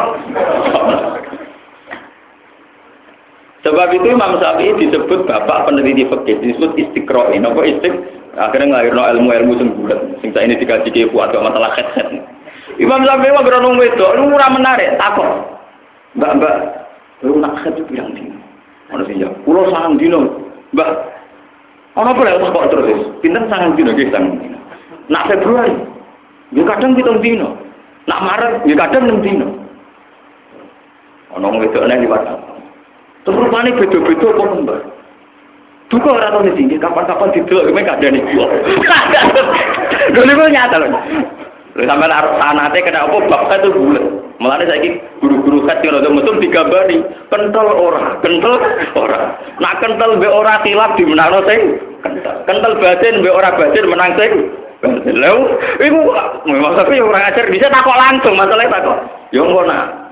sebab itu Imam Syafi'i disebut bapak peneliti fikih disebut istiqra napa istik akhirnya nglahirno ilmu-ilmu sing bulat sing saiki dikaji ke buat masalah khet-khet Imam Syafi'i mah berono wedok lu ora menarik takok mbak-mbak lu nak khet pirang dino ana sing jawab kula sangang dino mbak ana apa lek kok terus pinten sangang dino nggih sangang dino nak Februari yo kadang pitung dino nak Maret yo kadang enam dino ana wong wedok nek liwat terus rupane beda-beda apa mbak duka ora tau ning kapan-kapan didelok mek kadane kula lho niku nyata lho lha sampeyan arep sanate kena apa bab itu bulet mulane saiki guru-guru khat kira metu digambari kental ora kental ora nak kental mbek ora tilap dimenangno sing kental kental batin mbek ora batin menang sing batin lho iku memang tapi ora ngajar bisa takok langsung masalah takok yo ngono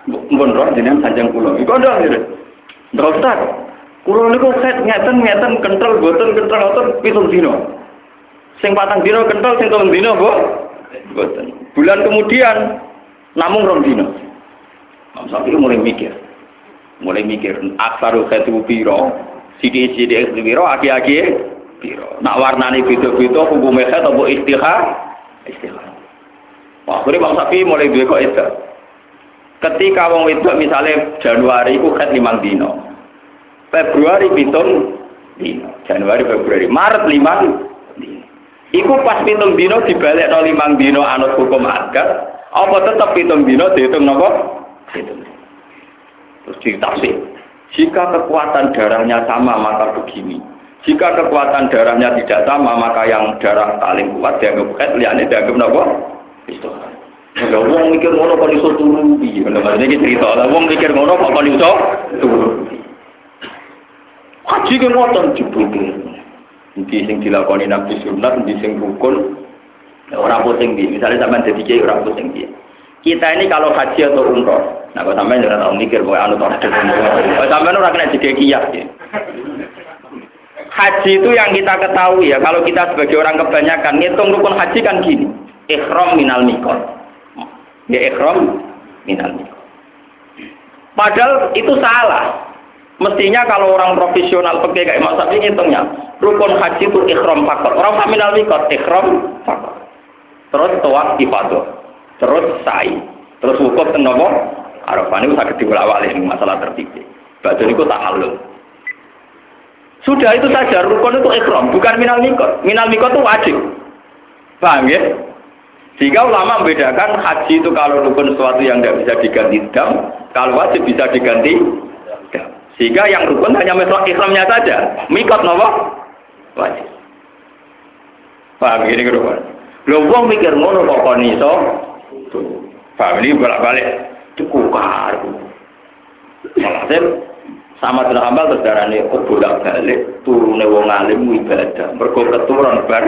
Mpun roh jenengan sanjang kula. Iku ndak ngene. Ndak Ustaz. Kula niku set ngeten ngeten kental boten kental ngoten pitung dina. Sing patang dina kental sing telung dina kok boten. Bulan kemudian namung rong dina. Mam Syafi'i mulai mikir. Mulai mikir aksaru khatu piro, sithik-sithik piro, aki-aki piro. Nak warnane beda-beda hukume khat apa istihah? Istihah. Wah, akhirnya Mam Syafi'i mulai duwe kok itu. Ketika wong wedok misalnya Januari iku khat limang dina. Februari pitung dina. Januari, Februari, Maret limang dina. Iku pas pitung dina dibalekno limang dina anut hukum adat, apa tetep pitung dina dihitung napa? Hitung. Terus ditafsir. Jika kekuatan darahnya sama maka begini. Jika kekuatan darahnya tidak sama maka yang darah paling kuat dianggap khat, liyane dianggap napa? Istihah. Ya wong mikir ngono kok iso turu piye? Maksudnya iki cerita lah wong mikir ngono kok kok iso turu. Haji ke ngoten jebule. Iki sing dilakoni Nabi sunat, iki sing rukun. Ora pusing iki. Misale sampean dadi kiai ora pusing iki. Kita ini kalau haji atau umroh, nah kalau sampean ora tau mikir kowe anu tok. Kalau sampean ora kena jege kias ya. Haji itu yang kita ketahui ya, kalau kita sebagai orang kebanyakan ngitung rukun haji kan gini. Ihram minal miqat. Ya ihram minal miqat. Padahal itu salah. Mestinya kalau orang profesional pakai kayak Imam Syafi'i ngitungnya, rukun haji itu ihram fakor. Orang minal miqat ihram fakor. Terus tawaf ifadah. Terus sa'i, terus wukuf ten napa? Arafah niku saged diwolak-walik masalah tertib. Badhe niku ta'allum. Sudah itu saja rukun itu ihram, bukan minal miqat. Minal miqat itu wajib. Paham ya? Sehingga ulama membedakan haji itu kalau rukun sesuatu yang tidak bisa diganti dam, kalau wajib bisa diganti dam. Sehingga yang rukun hanya masalah ihramnya saja. Miqat napa? Wajib. Paham ini keruan. Lho wong mikir ngono kok kon iso paham ini bolak-balik dikukar. Maksudnya sama dengan hambal terus darahnya oh bolak-balik turunnya wong alim ibadah mergo keturun bar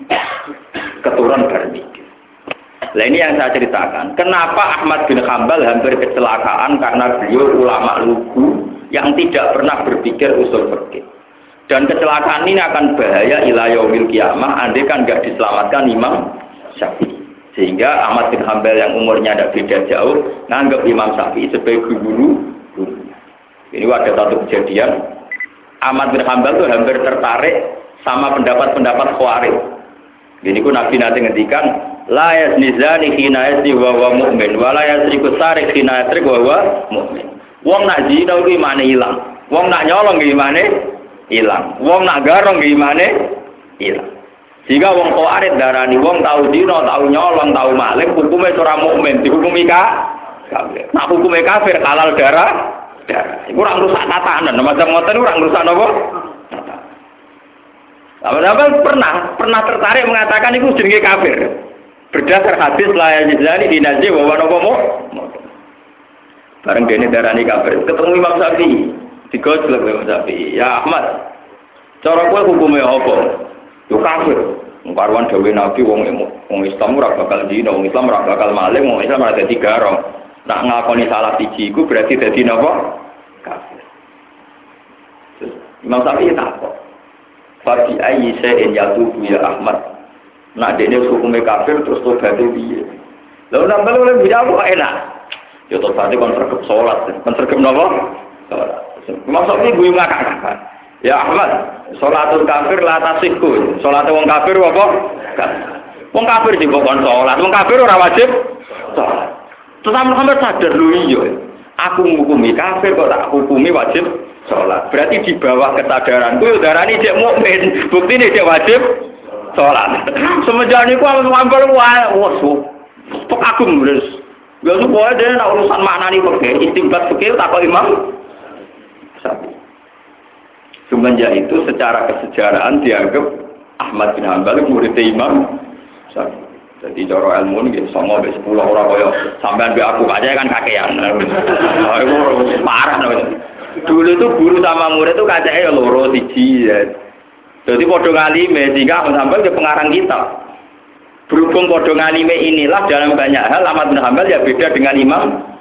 keturun bar mikir. Nah ini yang saya ceritakan kenapa Ahmad bin Hanbal hampir kecelakaan karena beliau ulama lugu yang tidak pernah berpikir usul fikih. Dan kecelakaan ini akan bahaya ila yaumil qiyamah andai kan enggak diselamatkan Imam Syafi'i. Sehingga Ahmad bin Hanbal yang umurnya tidak beda jauh nganggap Imam Syafi'i sebagai guru. Ini ada satu kejadian Ahmad bin Hanbal itu hampir tertarik sama pendapat-pendapat Khawarij. Ini ku Nabi nanti ngendikan la yazni zani hina yazni wa huwa mu'min wa la yasriku sarik hina yasrik wa huwa mu'min. Wong nak zina ku imane ilang. Wong nak nyolong ku imane ilang. Wong nak garong ku imane ilang. Jika wong Khawarij darani wong tahu zina, tahu nyolong, tahu maling, hukumnya ora mukmin, dihukumi kafir. Nah hukumnya kafir halal darah, darah. Iku ora ngrusak tatanan, macam ngoten ora ngrusak napa? Tatanan. pernah pernah tertarik mengatakan itu jenenge kafir. Berdasar hadis la yajzani dinaji wa wa napa mu. Bareng dene darani kafir, ketemu Imam Syafi'i. Digojlok Imam Syafi'i. Ya Ahmad, cara kowe hukumnya apa? Yo kafir. Karuan dawuh Nabi wong wong Islam ora bakal dina, wong Islam ora bakal maling, wong Islam ora dadi garong. Nak ngakoni salah siji iku berarti dadi napa? Kafir. Imam Syafi'i takok. Fa bi ayyi shay'in yatubu ya Ahmad. Nak dene hukume kafir terus tobat piye? Lha nambah oleh jawab kok enak. Yo tobat kon sergep salat, kon sergep napa? Salat. Imam Syafi'i guyu ngakak-ngakak. Ya Ahmad, sholatul kafir la tasihku. Sholat wong kafir apa? Wong kafir juga kon sholat. Wong kafir ora wajib sholat. Terus sampeyan sadar lho iya. Aku ngukumi kafir kok tak hukumi wajib sholat. Berarti di bawah kesadaranku yo darani cek mukmin. Buktine cek wajib sholat. Semenjak niku aku ngambil wae wes. Pok aku wis. Ya supaya dene nek urusan maknani fikih, istimbat fikih tak kok Imam Syafi'i. Semenjak itu secara kesejarahan dianggap Ahmad bin Hanbal murid Imam Syafi'i. Jadi cara ilmu ini sama sampai sepuluh orang kaya sampean be aku aja kan kakean. Nah, itu parah. Dulu itu guru sama murid itu kacake ya loro siji. Jadi padha ngalime sehingga Ahmad bin Hanbal ke pengarang kitab. Berhubung padha ngalime inilah dalam banyak hal Ahmad bin Hanbal ya beda dengan Imam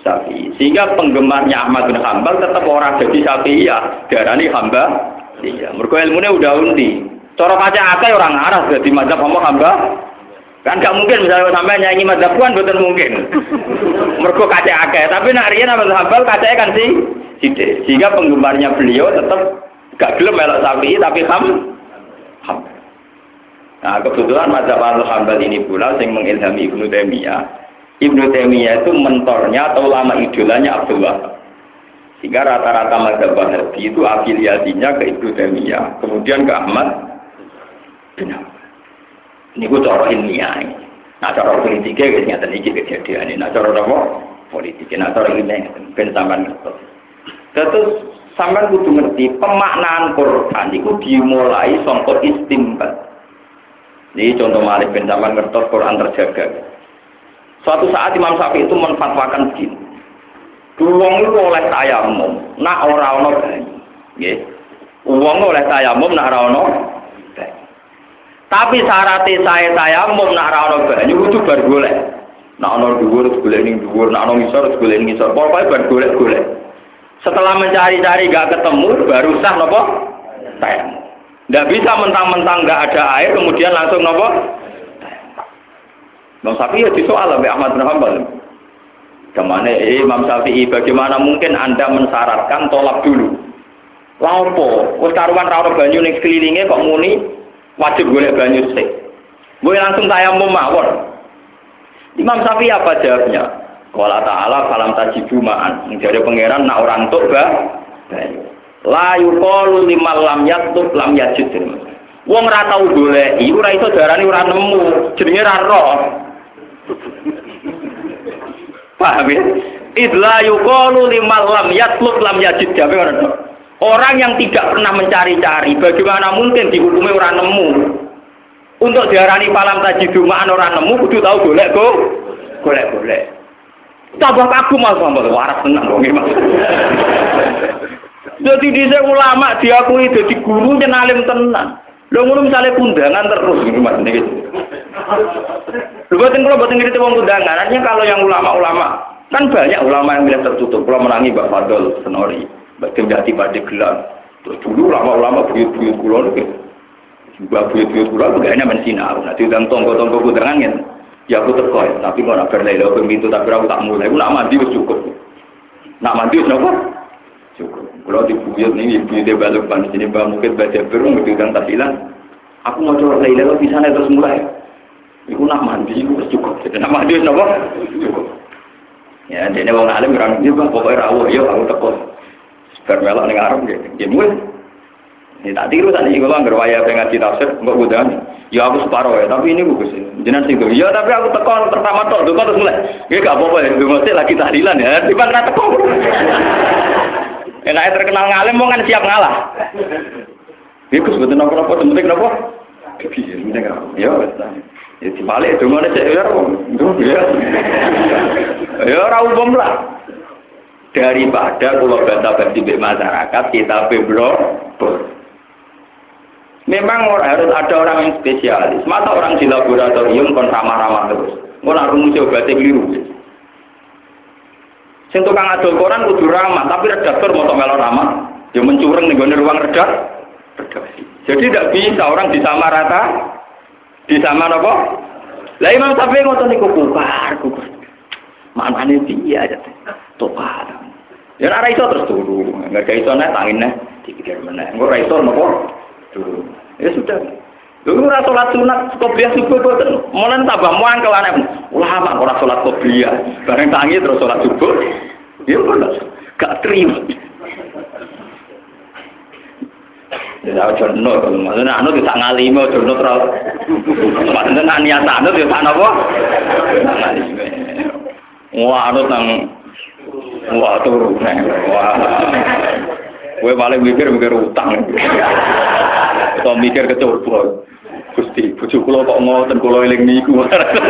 Syafi'i. Sehingga penggemarnya Ahmad bin Hanbal tetap orang jadi Syafi'i ya, darani hamba. Iya, mergo ilmune udah undi. Cara kaca akeh orang arah dadi mazhab apa hamba. Kan gak mungkin misalnya sampai nyanyi mazhab kan betul mungkin. Mergo kaca akeh, tapi nak riyen Ahmad bin Hanbal kacake kan sih sithik. Sehingga penggemarnya beliau tetap gak gelem melok Syafi'i tapi ham ham. Nah, kebetulan mazhab Al-Hambal ini pula yang mengilhami Ibnu Taimiyah. Ibnu Taimiyah itu mentornya atau ulama idolanya Abdul Wahab. Sehingga rata-rata mazhab Wahabi itu afiliasinya ke Ibnu Taimiyah, kemudian ke Ahmad bin Hanbal. Ini gue cara ilmiah. Nah, cara politiknya ternyata ini kejadian ini. Nah, cara apa? Politiknya. Nah, cara ilmiah ben sampean ngerti. Terus sampean kudu ngerti pemaknaan Quran itu dimulai sangka istimbat. Ini contoh Malik bin Zaman ngertos Quran terjaga. Suatu saat Imam Syafi'i itu menfatwakan begini. Wong itu oleh tayamum, nak ora ono banyu. Nggih. Wong oleh tayamum nak ora ono banyu. Tapi syaratnya saya tayamum nak ora ono banyu kudu bar golek. Nak ono dhuwur golek ning dhuwur, nak ono ngisor golek ning ngisor. Pokoke bar golek-golek. Setelah mencari-cari gak ketemu baru sah napa? Tayamum. Tidak bisa mentang-mentang nggak ada air kemudian langsung nopo. Imam Syafi'i disoal oleh Ahmad bin Hanbal. Kemana eh, Imam Syafi'i bagaimana mungkin Anda mensyaratkan tolak dulu? Lampo, wis karuan ra ono banyu ning sekelilinge kok muni wajib golek banyu sik. Gue langsung tayamum mawon. Imam Syafi'i apa jawabnya? Qala ta'ala falam tajibu ma'an. Dari pangeran nak orang tok ba banyu. La yuqalu limal lam yatub lam yajid. Wong ora tau goleki, ora iso darani ora nemu, jenenge ra roh. Paham ya? Idla yuqalu limal lam yatlub lam yajid. Orang yang tidak pernah mencari-cari, bagaimana mungkin dihukumi ora nemu? Untuk diarani falam tajidu ma'an ora nemu, kudu tau golek go. Golek-golek. Tambah kagum Mas Muhammad, waras tenan wong iki Mas. Jadi dhisik ulama diakui dadi guru yen alim tenan. Lho ngono misale kundangan terus iki Mas niki. Lho boten kula boten ngerti wong kundangan. Artinya kalau yang ulama-ulama kan banyak ulama yang bilang tertutup. Kula menangi Mbak Fadl Senori, Mbak Gendati Padegelan. Terus dulu ulama-ulama buyut-buyut kula niku. Mbak buyut-buyut kula begane men sinau. Nah diundang tonggo-tonggo kundangan yen ya aku teko, tapi kok ora berlelo pintu tapi aku tak mulai. Aku nak mandi wis cukup. Nak mandi wis napa? Cukup. Kalau dibuyut nih, ibu dia balik pan sini bang mungkin baca berung berang tahlilan. Aku mau coba Laila di sana terus mulai. Iku nak mandi, iku cukup. Nak mandi napa? Cukup. Ya, dene wong alim orang dia bang pokoknya rawuh, yo aku teko. Sebar melok ning arep nggih. Nggih mul. Ini tak tiru tadi kalau anggar waya pengen ngaji tafsir, enggak udah. Ya aku separuh ya, tapi ini bagus. Jenengan sing ya tapi aku teko pertama tok, teko terus mulai. Nggih gak apa-apa ya, mesti lagi tahlilan ya. Tiba ra teko. Enak terkenal ngalim mau kan siap ngalah. Iku sebetulnya apa-apa penting apa? Piye penting apa? Ya wis. Ya dibalik dongane sik ya. Ya. Ya ora umum lah. Daripada kula basa-basi mbek masyarakat kita beblok. Memang harus ada orang yang spesialis. Masa orang di laboratorium kon ramah-ramah terus. Ora rumus obatnya keliru. Sing tukang adol koran kudu ramah, tapi redaktor motok melo ramah, dia mencureng ning gone ruang redak. Redaksi. Jadi tidak bisa orang disamarata. Disama napa? Lah Imam Syafi'i ngoten niku kukar, kukar. Manane piye aja. Topat. Ya ora iso terus turu. Enggak iso nek tangine dipikir meneh. Engko ora iso napa? Turu. Ya sudah. Lha ora salat sunat qobliyah subuh boten. Molen tambah muangkel aneh. Ulama ora salat qobliyah, bareng tangi terus salat subuh. Ya ora gak terima. Ya ojo no, maksudnya anu tidak ngalime ojo no terus. Maksudnya niat anu ya sak napa? Ngalime. Wah anu nang wah turu nang. Wah. Kowe paling mikir-mikir utang. Atau mikir kecoba. Gusti, bojo kula kok ngoten kula eling niku.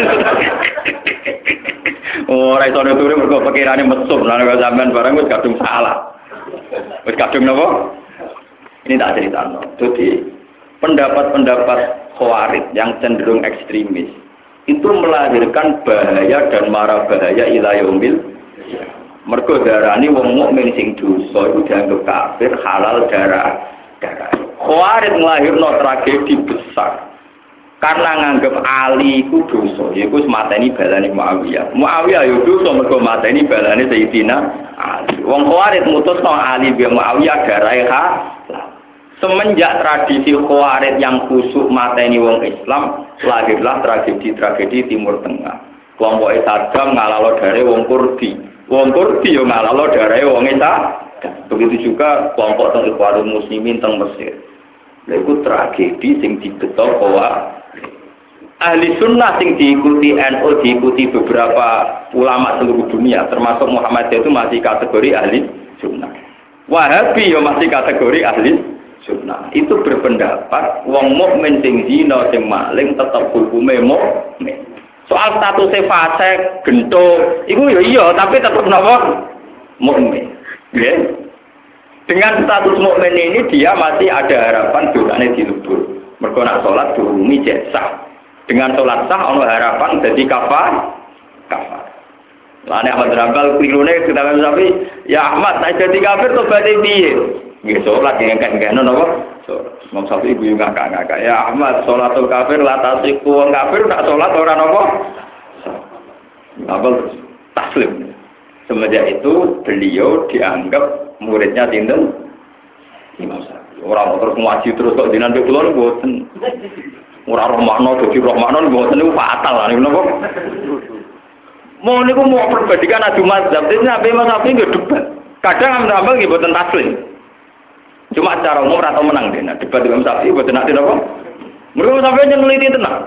Ora iso turu mergo pikirane mesum, lan kok sampean barang wis kadung salah. Wis kadung napa? Ini tak ceritano. Jadi pendapat-pendapat khawarij yang cenderung ekstremis itu melahirkan bahaya dan mara bahaya ila yaumil. Mergo darani wong mukmin sing dosa iku dianggap kafir, halal darah darah. Khawarij nglahirno tragedi besar. Karena nganggep Ali iku dosa, iku mateni balane Muawiyah. Muawiyah yo dosa mergo mateni balane Sayyidina Ali. Wong Khawarij mutusno Ali bin Muawiyah darahe halal. Semenjak tradisi Khawarij yang khusuk mateni wong Islam, lahirlah tragedi-tragedi Timur Tengah. Kelompok Saddam ngalalo dare wong Kurdi. Wong Kurdi yo ngalalo dare wong Islam. Begitu juga kelompok teng Ikhwanul Muslimin teng Mesir. Lha iku tragedi sing dibeto kowa ahli sunnah sing diikuti N U, diikuti beberapa ulama seluruh dunia, termasuk Muhammadiyah itu masih kategori ahli sunnah. Wahabi yo masih kategori ahli sunnah. Itu berpendapat wong mukmin sing zina sing maling tetap hukume mukmin. Soal statusnya fasik, gento, itu ya iya, tapi tetap napa mukmin. Ya. Dengan status mukmin ini dia masih ada harapan dosane dilebur. Mergo nak salat durungi cek sah. Dengan salat sah ana harapan dadi kafar. Kafar. Lane Ahmad Rambal klirune ketawa sapi, ya Ahmad, nek dadi kafir tobaté piye? Nggih salat yang kakek-kakek napa? Imam Syafi'i ibu ngakak-ngakak. Ya Ahmad, sholatul kafir latasiku wong kafir nak sholat ora napa? Apa taslim. Semenjak itu beliau dianggap muridnya sinten? Imam Syafi'i. Ora terus ngaji terus kok dinan kula mboten. Ora roh makna dadi roh makna mboten niku fatal lah niku napa? Mau niku mau perbandingan adu mazhab. Dene Nabi Imam Syafi'i nggih debat. Kadang Imam Syafi'i nggih mboten taslim. Cuma secara umum atau menang deh. Nah, debat Imam Syafi'i buat nak tidak apa? Mereka sampai yang neliti tenang.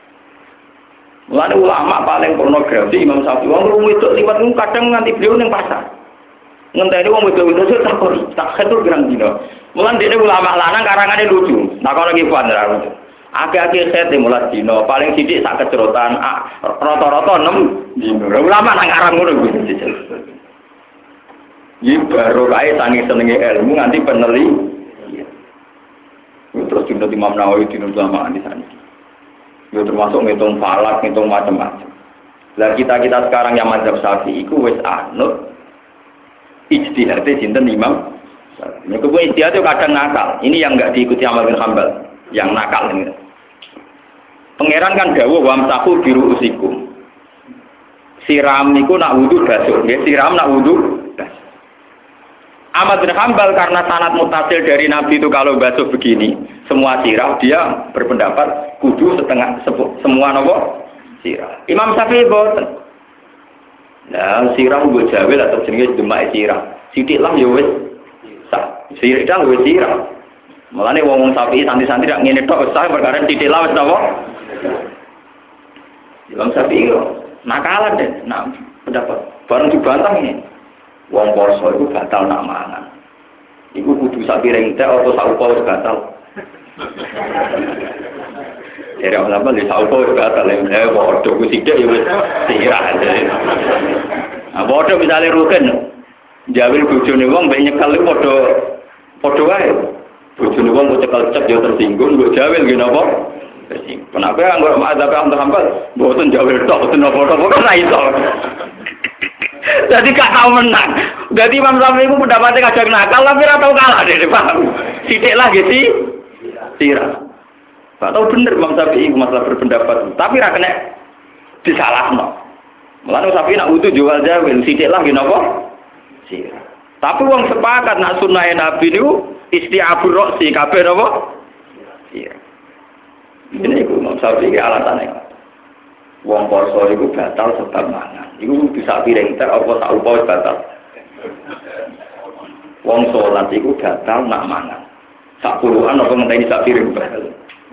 Mulai ulama paling pornografi Imam Syafi'i. Wong rumit itu liwat itu kadang nganti beliau neng pasar. Ngenteni wong itu itu tak kori, tak ketur gerang dino. Mulai dia ulama lanang karangannya lucu. Nah kalau lagi fun lah lucu. Akhir-akhir saya dimulai dino. Paling sidik sak kecerotan. Roto-roto enam dino. Ulama nang arang ngono gitu. Ini baru kaya sangi senengi ilmu nganti peneli. Terus juga Imam Nawawi di ulama di sana. Itu termasuk ngitung falak, ngitung macam-macam. Lah kita kita sekarang yang mazhab Syafi'i itu wis anut ijtihadnya sinten Imam. Nek kuwi ijtihad itu kadang nakal. Ini yang enggak diikuti Ahmad bin Hanbal, yang nakal ini. Pangeran kan dawuh wamsahu biru usikum. Siram niku nak wudu basuh, nggih siram nak wudu. Ahmad bin Hanbal karena sanad mutasil dari Nabi itu kalau basuh begini, semua sirah, dia berpendapat kudu setengah sepu, semua nopo sirah. Imam Syafi'i boten. Nah, sirah nggo jawel atau jenenge demak sirah. Sithik lah ya wis sah. Sirah wis sirah. Mulane wong-wong Syafi'i santri-santri rak ngene tok sah perkara sithik lah wis napa. Imam Syafi'i nakalan deh, nah pendapat bareng dibantah ini. Wong poso itu batal nak mangan. Iku kudu sak piring teh apa sak upa wis batal. Jadi orang apa sak upa wis batal. Eh padha ku sithik ya wis sirah. Ah padha misale rugen. Jawil bojone wong mbek nyekel iku padha padha wae. Bojone wong kok cekel cep ya tersinggung, mbok jawil nggih napa? Tersinggung. Kenapa anggere mazhab Ahmad Hanbal mboten jawil tok mboten napa-napa kok ra iso. Jadi gak tahu menang. Jadi Imam Syafi'i itu pendapatnya kadang nakal, tapi tidak tahu kalah deh, paham? Sidik lah gitu, sirah. Gak tahu bener Imam Syafi'i masalah berpendapat, tapi tidak kena disalah no. Mulanya Syafi'i nak utuh jual jawil, sidik lah gitu apa? Sirah. Tapi uang sepakat nak sunnah Nabi itu isti'abur roksi, kabeh apa? Sirah. Ini Imam Syafi'i alasannya. Wong poso iku batal sebab mangan. Iku bisa piring ter apa sak upa wis batal. Wong salat iku batal nak mangan. Sak puluhan apa ngenteni sak piring batal.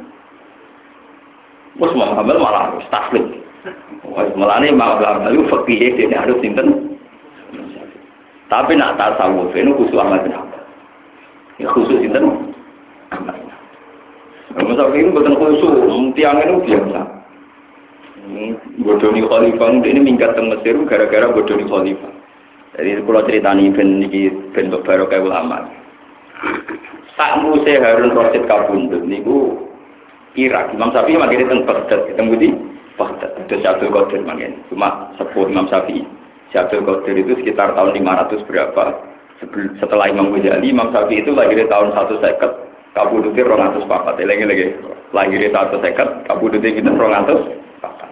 Wes Muhammad malah taslim. Wes melane malah lalu fikih dene harus sinten. Tapi nak tasawuf itu khusus Ahmad bin Hanbal. Ya khusus sinten? Ahmad. Masalah ini bukan khusus, tiang itu biasa. Bodoni khalifah ini minggat ke Mesir gara-gara bodoni khalifah. Jadi kalau ceritani ben iki ben barokah ulama. Sak muse Harun Rasyid kabundut niku Irak. Imam Syafi'i mangkene teng Baghdad, ketemu di Baghdad. Terus Abdul Qadir mangkene. Cuma sepuh Imam Syafi'i. Si Abdul Qadir itu sekitar tahun lima ratus berapa? Setelah Imam Ghazali, Imam Syafi'i itu lahir tahun seratus seket, kabudute dua ratus empat. Lagi-lagi lahir seratus seket, kabudute kita dua ratus empat.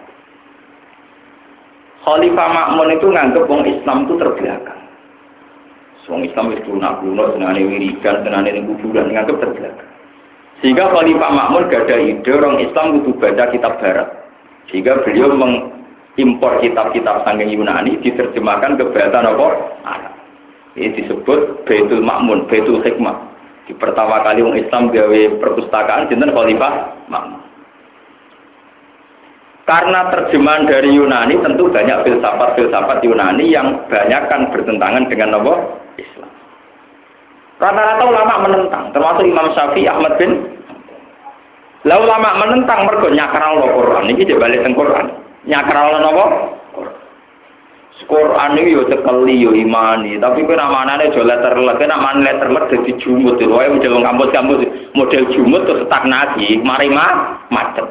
Khalifah Ma'mun itu nganggep wong Islam itu terbelakang. Wong Islam itu lunak-lunak, senane wiridan, senane ning kuburan, nganggep terbelakang. Sehingga Khalifah Ma'mun gak ada ide orang Islam kudu baca kitab barat. Sehingga beliau mengimpor kitab-kitab saking Yunani diterjemahkan ke bahasa apa? Arab. Ini disebut Baitul Ma'mun, Baitul Hikmah. Di pertama kali orang Islam gawe perpustakaan sinten Khalifah Ma'mun. Karena terjemahan dari Yunani tentu banyak filsafat-filsafat Yunani yang banyak kan bertentangan dengan apa? Islam. Rata-rata ulama menentang, termasuk Imam Syafi'i, Ahmad bin. Lah ulama menentang mergo nyakral Al-Qur'an iki dibalik teng Qur'an. Nyakral napa? Qur'an iki yo cekeli yo imani, tapi kowe ramanane aja letterlek, nek man letterlek dadi jumut lho, wae model kampus-kampus model jumut terus stagnasi, mari mah macet.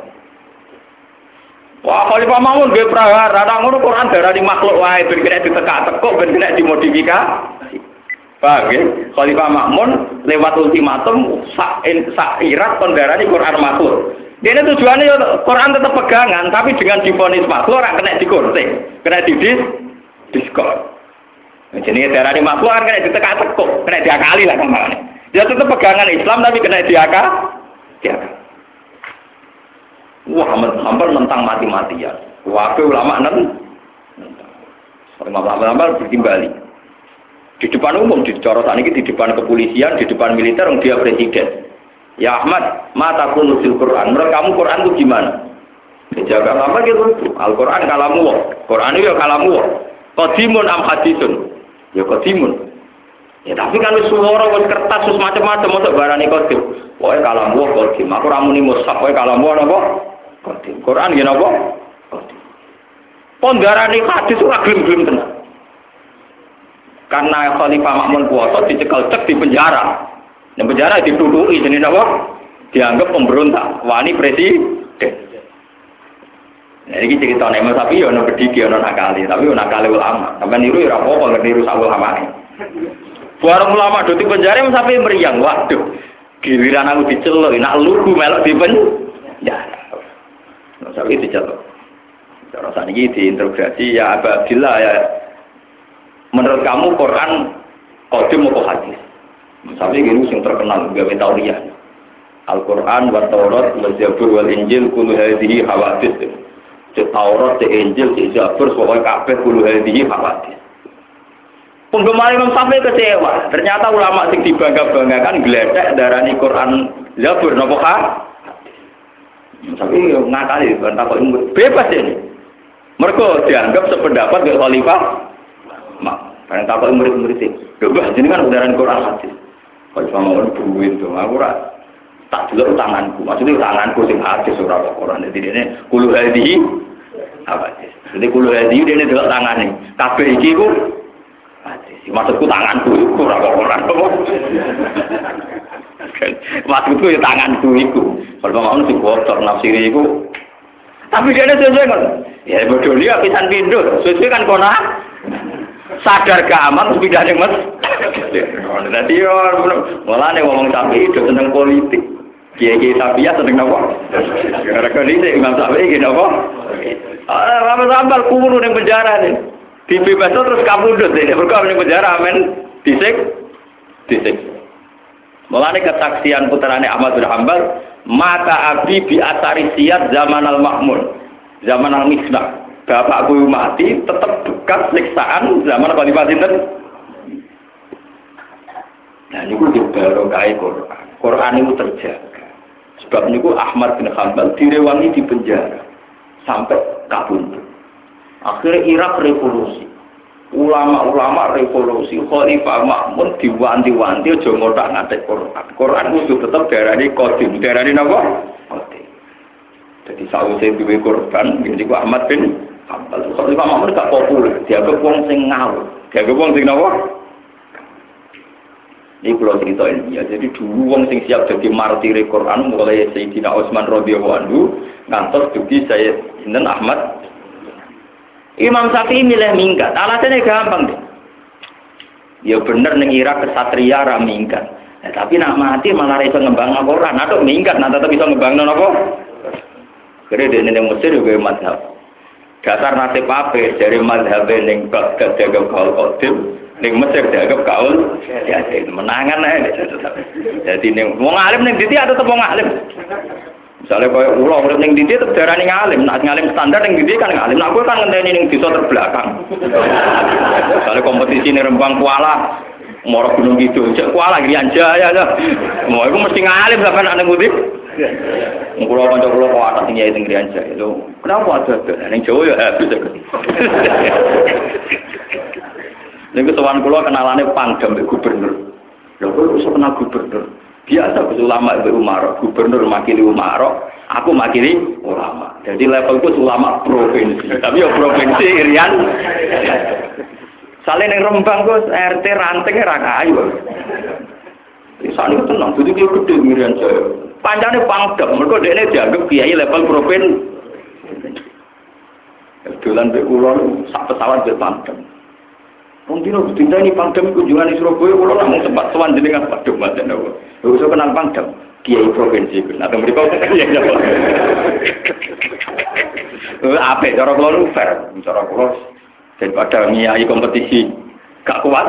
Wah, Khalifah Ma'mun nggih prahara, nek ngono Qur'an darani makhluk wae ben kena ditekak-tekuk, ben kena dimodifikasi. Paham ya? Khalifah Ma'mun lewat ultimatum sak sak irat kondarani Quran makhluk. Dia ini tujuannya ya Quran tetap pegangan, tapi dengan divonis makhluk ora kena digunting, kena didis diskon. Jenenge darani makhluk kan kena ditekak-tekuk, kena diakali lah kamane. Dia tetap pegangan Islam tapi kena diakal. Diakal. Wah, hampir mentang mati-matian. Wah, ulama nentang. Ulama-ulama bertimbali. Di depan umum, di corotan ini, di depan kepolisian, di depan militer, dia presiden. Ya Ahmad, mata kunusil Quran. Menurut kamu Quran itu gimana? Dijaga apa gitu? Al-Quran kalamu. Quran itu ya kalamu. Qadimun am hadisun. Ya qadimun. Ya tapi kan suara, kertas, terus macam-macam untuk barani qadim. Pokoknya kalamu qadim. Aku ramuni mushaf, pokoknya kalamu apa? Qadim. Quran gini apa? Qadim. Pondarani hadis itu gelem-gelem tenang. Karena Khalifah Ma'mun kuasa dicekal cek di penjara. Di penjara dituduhi jenis apa? Dianggap pemberontak. Wani presiden. Nah, ini cerita Imam Syafi'i ya ono bediki ono nakali, tapi ono nakali ulama. Sampai niru ya ora apa-apa ngerti niru sak ulama. Buareng ulama do di penjara Imam Syafi'i meriang. Waduh. Giliran aku diceluk, nak lugu melok di penjara. Imam Syafi'i diceluk. Cara saniki diinterogasi ya Abdillah ya. Menurut kamu Quran qadim atau hadis? Misalnya gini yang terkenal gawe tauriyah. Al-Quran wa Taurat wa Zabur wal Injil kullu hadhihi hawadits. Taurat, Injil, Zabur pokoknya kabeh kullu hadhihi hawadits. Penggemar Imam Syafi'i kecewa. Ternyata ulama sing dibangga-banggakan gledek darani Quran Zabur napa hadis. Tapi ngakali kan takok bebas ini. Mergo dianggap sependapat dengan Khalifah Mak, karena takut murid-murid itu, coba jadi kan udaran Quran hadis. Kalau cuma mau duit tuh, aku rak tak dulu tanganku, maksudnya tanganku sing hadis surah Quran. Jadi ini kulu hadi apa hadis. Jadi kulu hadi dia ini dulu tangan nih, kafe iki ku hadis. Maksudku tanganku itu surah Quran. Maksudku ya tanganku itu. Kalau mau sih bocor nafsiri itu. Tapi dia ini sesuai kan? Ya bodoh dia pisan pindu, sesuai kan kona. Sadar gak aman pindah ning Mas. Dadi yo mulane ngomong Syafi'i do seneng politik. Kiai-kiai Syafi'i seneng napa? Gara-gara iki Imam Syafi'i iki napa? Ah, Rama Sambal kulo ning penjara nih. Dibebas terus kabudut nek mergo ning penjara men disik disik. Mulane kesaksian putrane Ahmad bin Hanbal, mata abi bi asari siyat zaman al-Ma'mun, zaman al-Misbah. Bapakku mati tetap bekas siksaan zaman Khalifah sinten. Nah niku baru kae Quran. Quran itu terjaga. Sebab niku Ahmad bin Hanbal direwangi di penjara sampai kabundut. Akhirnya Irak revolusi. Ulama-ulama revolusi, Khalifah Ma'mun diwanti-wanti aja ngotak ngatek Quran. Quran kudu tetep darani qadim, darani napa? Qadim. Jadi sawise duwe korban niku Ahmad bin Hanbal. Khalifah Ma'mun gak populer, dianggap wong sing ngawur. Dianggap wong sing napa? Ini kalau cerita ini ya, jadi dulu wong sing siap jadi martir Quran mulai Sayyidina Utsman radhiyallahu anhu ngantos dugi saya Sinten Ahmad. Imam Syafi'i milih minggat. Alasannya gampang deh. Ya bener ning Irak kesatria ra minggat. Nah, tapi nak mati malah iso ngembangno Quran. Aduh minggat nah tetep iso ngembangno napa? Kene dene ning Mesir juga mazhab. Dasar nasib ape dari mazhab ning kok jaga kaul qadim ning Mesir dianggap kaul ya menangan ae. Jadi ning wong alim ning ndi atau tetep wong alim. Misalnya kaya ulo urip ning ndi tetep darani ngalim, nak ngalim standar ning ndi kan ngalim. Nak kowe kan ngenteni ning desa terbelakang. Misalnya kompetisi ning Rembang Kuala, Moro Gunung Kidul, cek Kuala Grian Jaya ya. Mau iku mesti ngalim sampean ana ngendi? Kulo kanca kulo kok atas tinggi teng Grian Jaya. Lho, kenapa ada ning Jawa ya habis. Niku sowan kulo kenalane Pangdam mbek gubernur. Lho kok iso kenal gubernur? Biasa ulama Mbak Umar, gubernur makili Umar, aku makili ulama. Jadi levelku ulama provinsi. Tapi ya provinsi Irian. Saleh ning Rembang Gus, R T ranting ra kayu. Isane tenang, dadi ki gedhe Irian Jaya. Pancane Pangdam, mergo dekne dianggap kiai level provinsi. Dolan mbek kula sak pesawat mbek Pangdam. Mungkin harus tindak ini Pangdam kunjungan di Surabaya, kalau namun sempat sowan jenengan Pangdam macam apa? Lalu saya kenal Pangdam, Kiai Provinsi, atau mereka Kiai apa? Apa? Cara kalau fair, cara kalau daripada ngiai kompetisi gak kuat.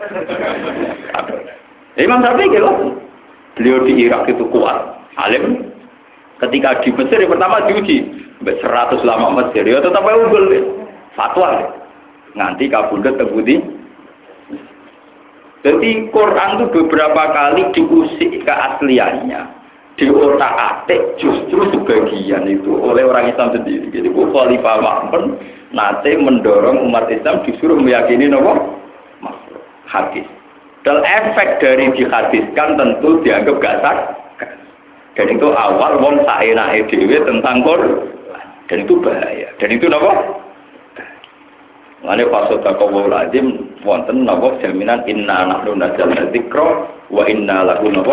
Imam Syafi'i gitu, beliau di Irak itu kuat, alim. Ketika di Mesir yang pertama diuji, seratus lama Mesir, ya tetap unggul, fatwa. Nganti kabudut terbudi. Jadi Quran itu beberapa kali diusik keasliannya, diotak-atik justru sebagian itu oleh orang Islam sendiri. Jadi Khalifah Ma'mun nanti mendorong umat Islam disuruh meyakini nopo hadis. Dan efek dari dihadiskan tentu dianggap gak sah. Dan itu awal wong saenake dhewe tentang Quran. Dan itu bahaya. Dan itu nopo? Mane fasota kawu lazim wonten napa jaminan inna nahnu nazzalna dzikra wa inna lahu napa.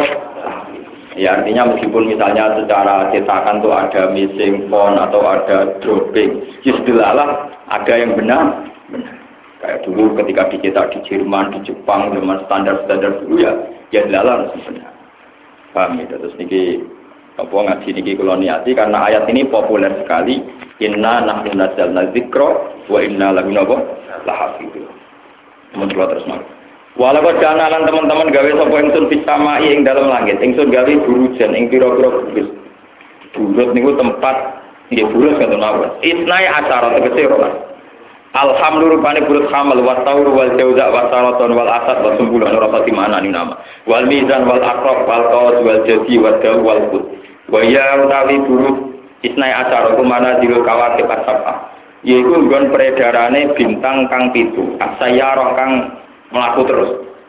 Ya artinya meskipun misalnya secara cetakan tuh ada missing font atau ada dropping, istilah ada yang benar. Benar. Kayak dulu ketika dicetak di Jerman, di Jepang dengan standar-standar dulu ya, ya dalam sebenarnya. Paham ya? Terus niki apa ngaji niki kula niati karena ayat ini populer sekali. Inna nahnu nazzalna dzikra wa inna lahu lahafidun. Mun-mun terus mawon. Walau kana lan teman-teman gawe sapa ingsun pisamai ing dalam langit. Ingsun gawe burujan ing pira-pira burus. Burus niku tempat nggih burus ngoten mawon. Isnai acara tegese rolas. Alhamdulillah rupane burus hamal wa taur wal jauza wa saraton wal asad wa sumbulan rasa timana ni nama. Wal mizan wal aqrab wal qawas wal jadi wa daw wal qut. Wa ya utawi burus isnai acara kumana dirul kawakib asapa. Yaiku nggon peredarane bintang kang pitu. Asayarah kang melaku terus.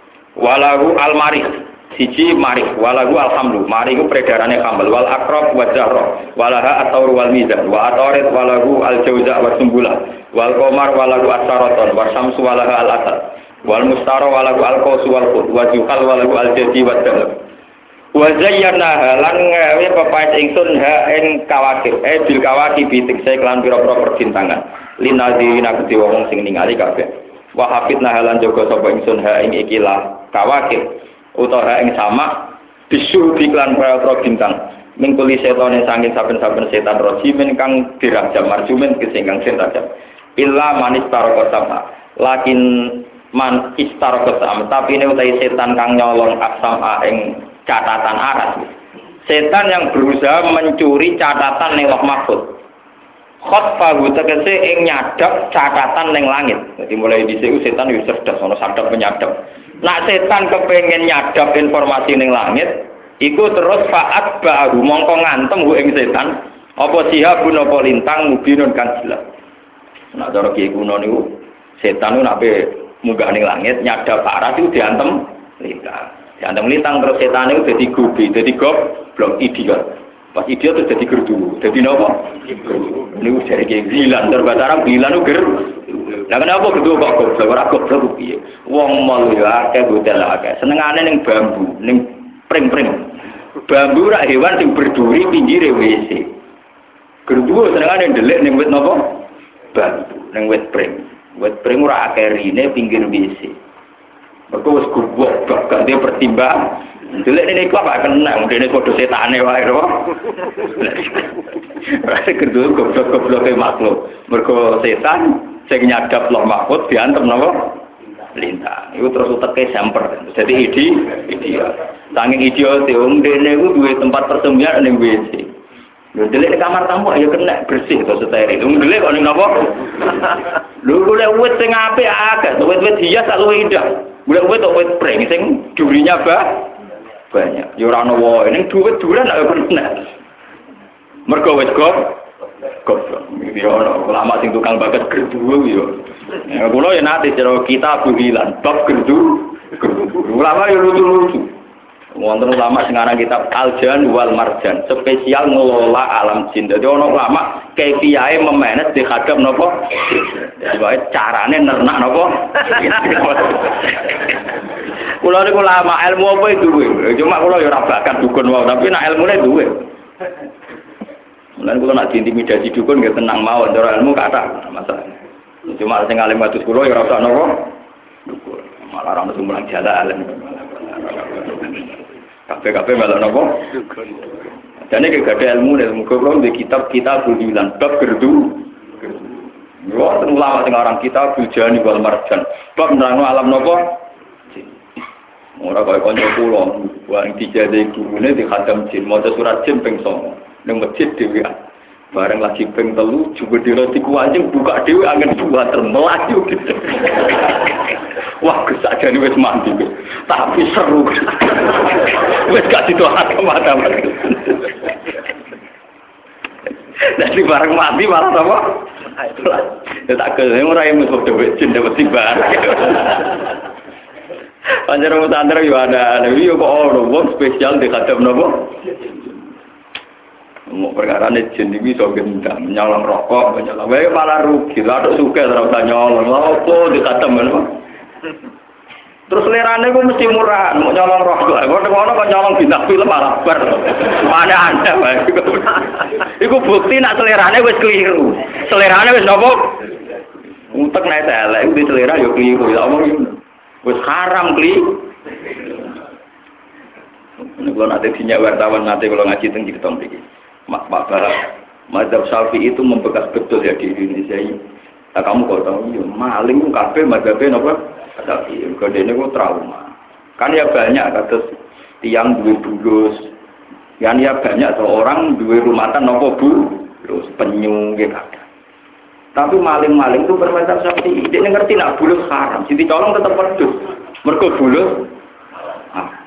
Walahu al-marih siji marih, walahu alhamdulillah. Marih ku peredarane hambal wal akrab wa zahra. Walaha at-taur wal mizan wa atarit walahu al-jauza wa sumbula. Wal qamar walahu as-saraton wa syamsu walaha al-asad. Wal mustara walahu al-qaus wal qut wa zuhal walahu al-jadi wa dalal. Wa zayyana lan gawe pepaes ingsun ha ing kawakib eh bil kawakib bitik saya kelan pira-pira perbintangan linadzirina kedhe wong sing ningali kabeh wa hafidna halan jaga sapa ingsun ha ing ikilah kawakib utawa ing sama bisu iklan pira-pira bintang mingkuli setane saking saben-saben setan rojimen kang dirajam marjumen kesingkang setan illa manis taraka sama lakin man istaraka sama tapi ini utai setan kang nyolong asama ing catatan aras. Setan yang berusaha mencuri catatan ning Lauh Mahfuz. Khotfahu tegese ing nyadap catatan ning langit. Jadi mulai dhisik setan wis cerdas ana sadap penyadap. Nak setan kepengin nyadap informasi ning langit, iku terus faat baru mongko ngantem ku ing setan apa sihabun apa lintang mubinun kang jelas. Nak cara kiye kuno niku setan ku nek munggah ning langit nyadap aras iku diantem lintang. Diantem lintang terus setan itu jadi gubi, jadi goblok idiot. Pas idiot itu jadi gerdu, jadi apa? Ini jadi kayak gilan, terbatara gilan itu ger. Nah kenapa gerdu kok goblok? Orang goblok piye? Wong malu ya akeh bodel akeh. Senengane ning bambu, ning pring-pring. Bambu rak hewan sing berduri pinggire W C. Gerdu senengane ndelik ning wit napa? bambu ning wit pring. Wit pring ora akeh rine pinggir W C. Mergo wis gubuk gak dia pertimbang. Delek nek iku apa kenang dene padha setane wae lho. Ora kerdu goblok-gobloke makhluk. Mergo setan sing nyadap loh mahfud diantem napa? Lintang. Iku terus uteke semper. Jadi idi, ideal. Saking ideal wong dene iku duwe tempat persembunyian ning W C. Lho delek kamar tamu ayo kena bersih to steril. Wong delek kok ning napa? Lho golek wit sing apik akeh, wit-wit hias sak luwih indah. Golek wit wit pring sing durinya bah banyak. Ya ora ono wae ning duit duran ayo kena. Mergo wit kok goblok. Iki ono ulama sing tukang bakat gerdu yo. Ya kula ya nate cara kita buhilan bab gerdu. Ulama yo lucu-lucu. Wonten ulama sing aran kitab Al-Jan wal Marjan, spesial ngelola alam jin. Dadi ono ulama kefiahe memanage dihadap napa? Wae carane nernak napa? Kula niku ulama ilmu apa itu duwe. Cuma kula ya ora bakat dukun wae, tapi nek ilmune duwe. Lan kula nak diintimidasi dukun nggih tenang mawon, cara ilmu kathah masalah. Cuma sing alim watus kula ya ora usah napa? Dukun. Malah ora mesti mulang jalan. Kabeh-kabeh malah napa? Dukun. Jane iki gak ada ilmu nek muga kula di kitab-kitab bulan bab gerdu. Yo ulama sing aran kitab Al-Jan wal Marjan. Bab nerangno alam napa? Ora kaya kanca kula, wong dijade gurune di khatam jin, maca surat jin ping sanga. Ning masjid dhewe. Bareng lagi ping telu juga diroti kuanjing buka dhewe angin dua termelaju gitu. Wah, kesajane wis mandi. Tapi seru. Wis gak didoakan mata-mata. Jadi bareng mati malah apa? Ya tak ke ora yang mesti dhewe jin dapat tiba. Panjang musandar yo ada, tapi yo kok ono wong spesial di kadang nopo. Mau perkara ne jin iki iso gendang, nyolong rokok, nyolong wae malah rugi. Lah tok suke ora usah nyolong. Opo di kadang ngono. Terus lerane ku mesti murah, mau nyolong rokok. Kok ngono kok nyolong bintang film malah bar. Mana anda wae. Iku bukti nak selerane wis keliru. Selerane wis nopo? Utek nek elek di selera yo keliru. Ya omong wis haram kli. Nek kula nate dinyak wartawan nate kula ngaji teng cerita mriki. Mak Pak Barat, mazhab Syafi'i itu membekas betul ya di Indonesia ini. Nah, kamu kok tahu ya maling kabeh mazhabnya napa? Syafi'i. Kodene kok trauma. Kan ya banyak kados tiang duwe bulus. Kan ya banyak seorang duwe rumatan napa bu? Terus penyu nggih kabeh. Tapi maling-maling itu bermazhab Syafi'i. Dia ngerti nak bulus haram. Sing dicolong tetap pedus. Mergo bulus. Ah.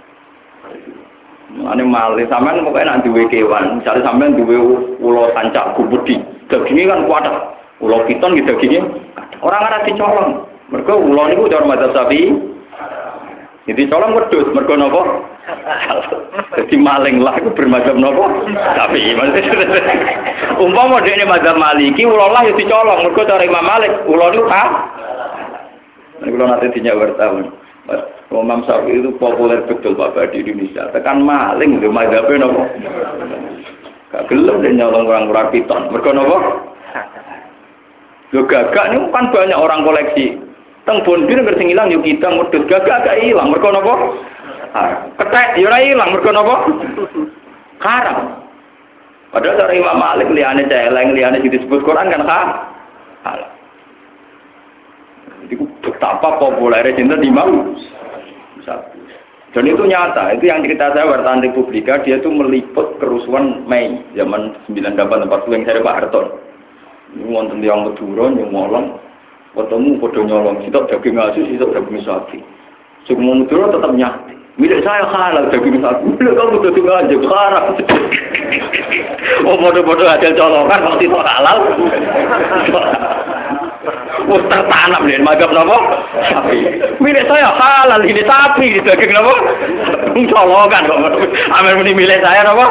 Ane maling sampean pokoke nak duwe kewan, misale sampean duwe ula sancak gubedi. Daginge kan kuat. Ula piton iki daginge ora ngarep dicolong. Mergo ula niku cara mazhab Syafi'i. Jadi colong wedhus mergo napa? Jadi maling lah iku bermazhab napa? Syafi'i. Umpama dekne mazhab Maliki ula lah ya dicolong mergo cara Imam Malik ula niku ah. Nek kula nate dinyak wartawan. Imam Syafi'i itu populer betul Bapak di Indonesia. Tekan maling lho mazhabe napa? Gak gelem nek nyolong orang ora piton. Mergo napa? Lho gagak niku kan banyak orang koleksi. Teng Bonbir ngerti ilang yo kita modus gagak gak ilang. Mergo napa? Ketek yo ora ilang mergo napa? Haram. Padahal cara Imam Malik liyane celeng liyane disebut Quran kan halal. Itu betapa populernya cinta Imam Syafi'i. Dan itu nyata, itu yang cerita saya wartawan Republika, dia itu meliput kerusuhan Mei zaman sembilan puluh delapan empat puluh yang saya Pak Harton. Ini wonten yang Madura yang ngolong, ketemu podo nyolong, sitok daging asus, sitok daging sapi. Semua Madura tetap nyati. Milik saya halal daging sapi. Milik kamu daging aja haram. Oh podo-podo hasil colongan kalau sitok halal. Wes tertanam nih, magap napa? Sapi. Milik saya halal ini sapi, daging napa? Colongan kok. Amer muni milik saya napa?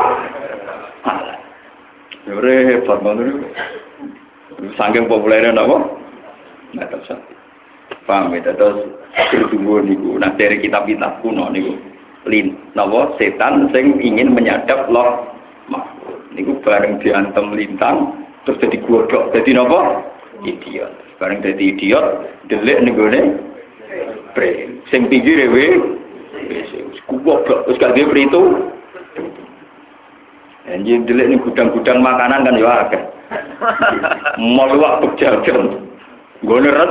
Halal. Repot banget. Saking populernya napa? Magap sapi. Paham ya, terus bertumbuh niku. Nah dari kitab-kitab kuno niku, lin, napa? Setan sing ingin menyadap loh. Niku bareng diantem lintang, terus jadi godok. Jadi napa? idiot. Bareng dadi idiot, delik ning gone pre. Sing pinggire we wis goblok wis gak dhewe itu. Anjir delik ning gudang-gudang makanan kan ya akeh. Maluak pejajan. Gone res.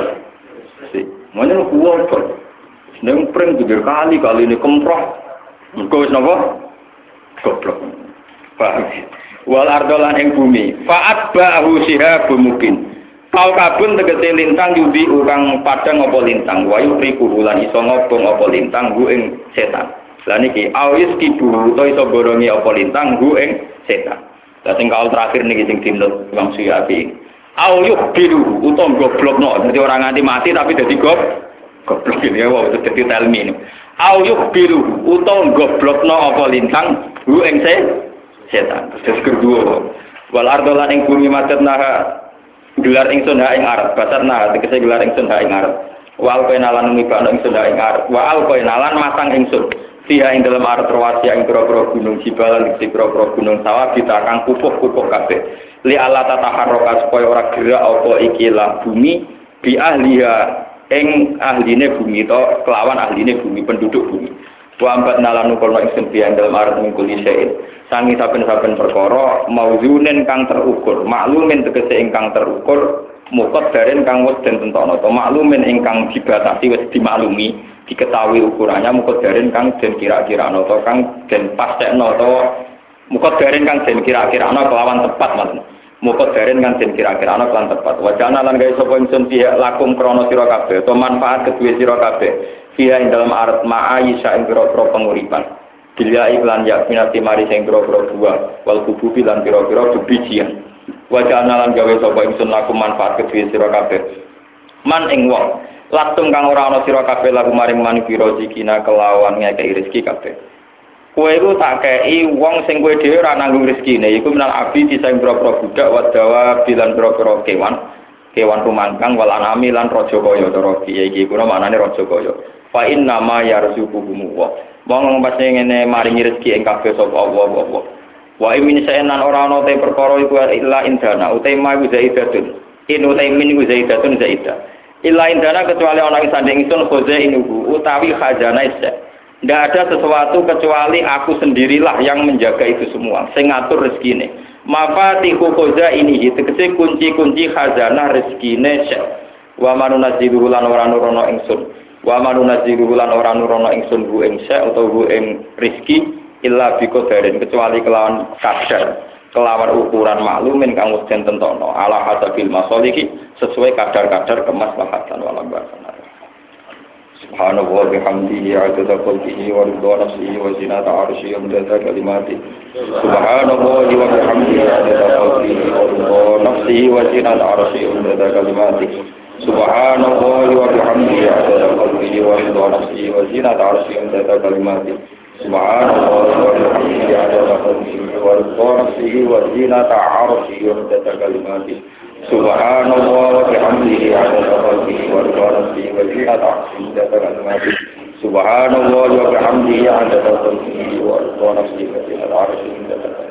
Mana goblok. Nang pring pinggir kali kali ini kemproh. Mergo wis napa? Goblok. Paham. Wal ardolan ing bumi. Fa'at ba'hu sihabun mungkin. Kau kabun tegese lintang yudi urang padang apa lintang. Wa yuriku lan iso ngobong apa lintang gu ing setan. Lah niki awis kibu to iso borongi apa lintang gu ing setan. Lah sing kaul terakhir niki sing dinut Imam Suyati. Au yuk biru utawa goblokno. Dadi ora nganti mati tapi dadi gob goblok iki ya wae dadi telmi. Au yuk biru utawa goblokno apa lintang gu ing setan. Terus kedua wal ardolan ing bumi macet naha gelar ingsun ha ing arep batat nah tegese gelar ingsun ha ing arep wal penalan ngibano ingsun ha ing arep wal penalan masang ingsun fiha ing dalam arep rawasi ing pro-pro gunung jibalan ing pro-pro gunung sawah ditakang pupuk-pupuk kabeh li ala tataharroka supaya ora gerak apa iki lah bumi bi ahliha ing ahline bumi to kelawan ahline bumi penduduk bumi wa ambat nalan nukono ingsun fiha ing dalam arep mingkuli sein sangi saben-saben perkara mauzunen kang terukur maklumin tegese ingkang terukur mukot daren kang wis den tentono to maklumin ingkang dibatasi wis dimaklumi diketahui ukurannya mukot daren kang den kira-kirano to kang den pastekno to mukot daren kang den kira-kirano kelawan tepat maksud mukot daren kang den kira-kirano kelawan tepat wajana lan gawe sapa ingsun pihak lakum krana sira kabeh to manfaat kedue sira kabeh fiha ing dalam arat ma'aisha ing pira-pira penguripan Bila iklan yakminati mari sing pira-pira buah wal kububi lan pira-pira bebijian. Wajah lan gawe sapa ingsun laku manfaat kedue sira kabeh. Man ing wong langsung kang ora ana sira kabeh laku maring man pira sikina kelawan ngekeki rezeki kabeh. Kowe iku tak kei wong sing kowe dhewe ora nanggung rezekine iku minal abdi sing pira-pira budak wadawa bilan pira-pira kewan. Kewan rumangkang wal anami lan raja kaya cara iki iku maknane raja kaya. Fa inna ma yarzuquhum wa wong pas ngene maringi rezeki ing kabeh sapa Allah Allah. Wa imin saenan ora ana te perkara iku illa indana utai ma zaidatun. In utai min zaidatun zaida. Illa indana kecuali ana ing sanding ingsun khoza inuhu utawi khazanah isa. Ndak ada sesuatu kecuali aku sendirilah yang menjaga itu semua, sing ngatur rezekine. Mafatihu khoza ini tegese kunci-kunci khazanah rezekine isa. Wa manunazilu lan ora nurono ingsun. Wa manunazilu lan ora nurono ingsun bu ing sa utawa bu ing rezeki illa bi qadarin kecuali kelawan kadar kelawan ukuran maklumin kang wis den tentono ala hasabil masalihi sesuai kadar-kadar kemaslahatan wal barakah. Subhanahu wa bihamdihi adada khalqihi wa ridha nafsihi wa zinata arsyihi wa midada kalimatihi. Subhanahu wa bihamdihi adada khalqihi wa ridha nafsihi wa zinata arsyihi wa midada kalimatihi. Subhanallah wa bihamdihi adada khalqihi wa ridha nafsihi wa zinata arsyihi wa midada kalimatihi. Subhanallah wa bihamdihi adada khalqihi wa ridha nafsihi wa zinata arsyihi wa midada kalimatihi. Subhanallah wa bihamdihi adada khalqihi wa ridha nafsihi wa zinata arsyihi wa midada kalimatihi. Subhanallah wa bihamdihi adada khalqihi wa ridha nafsihi wa zinata arsyihi wa midada kalimatihi.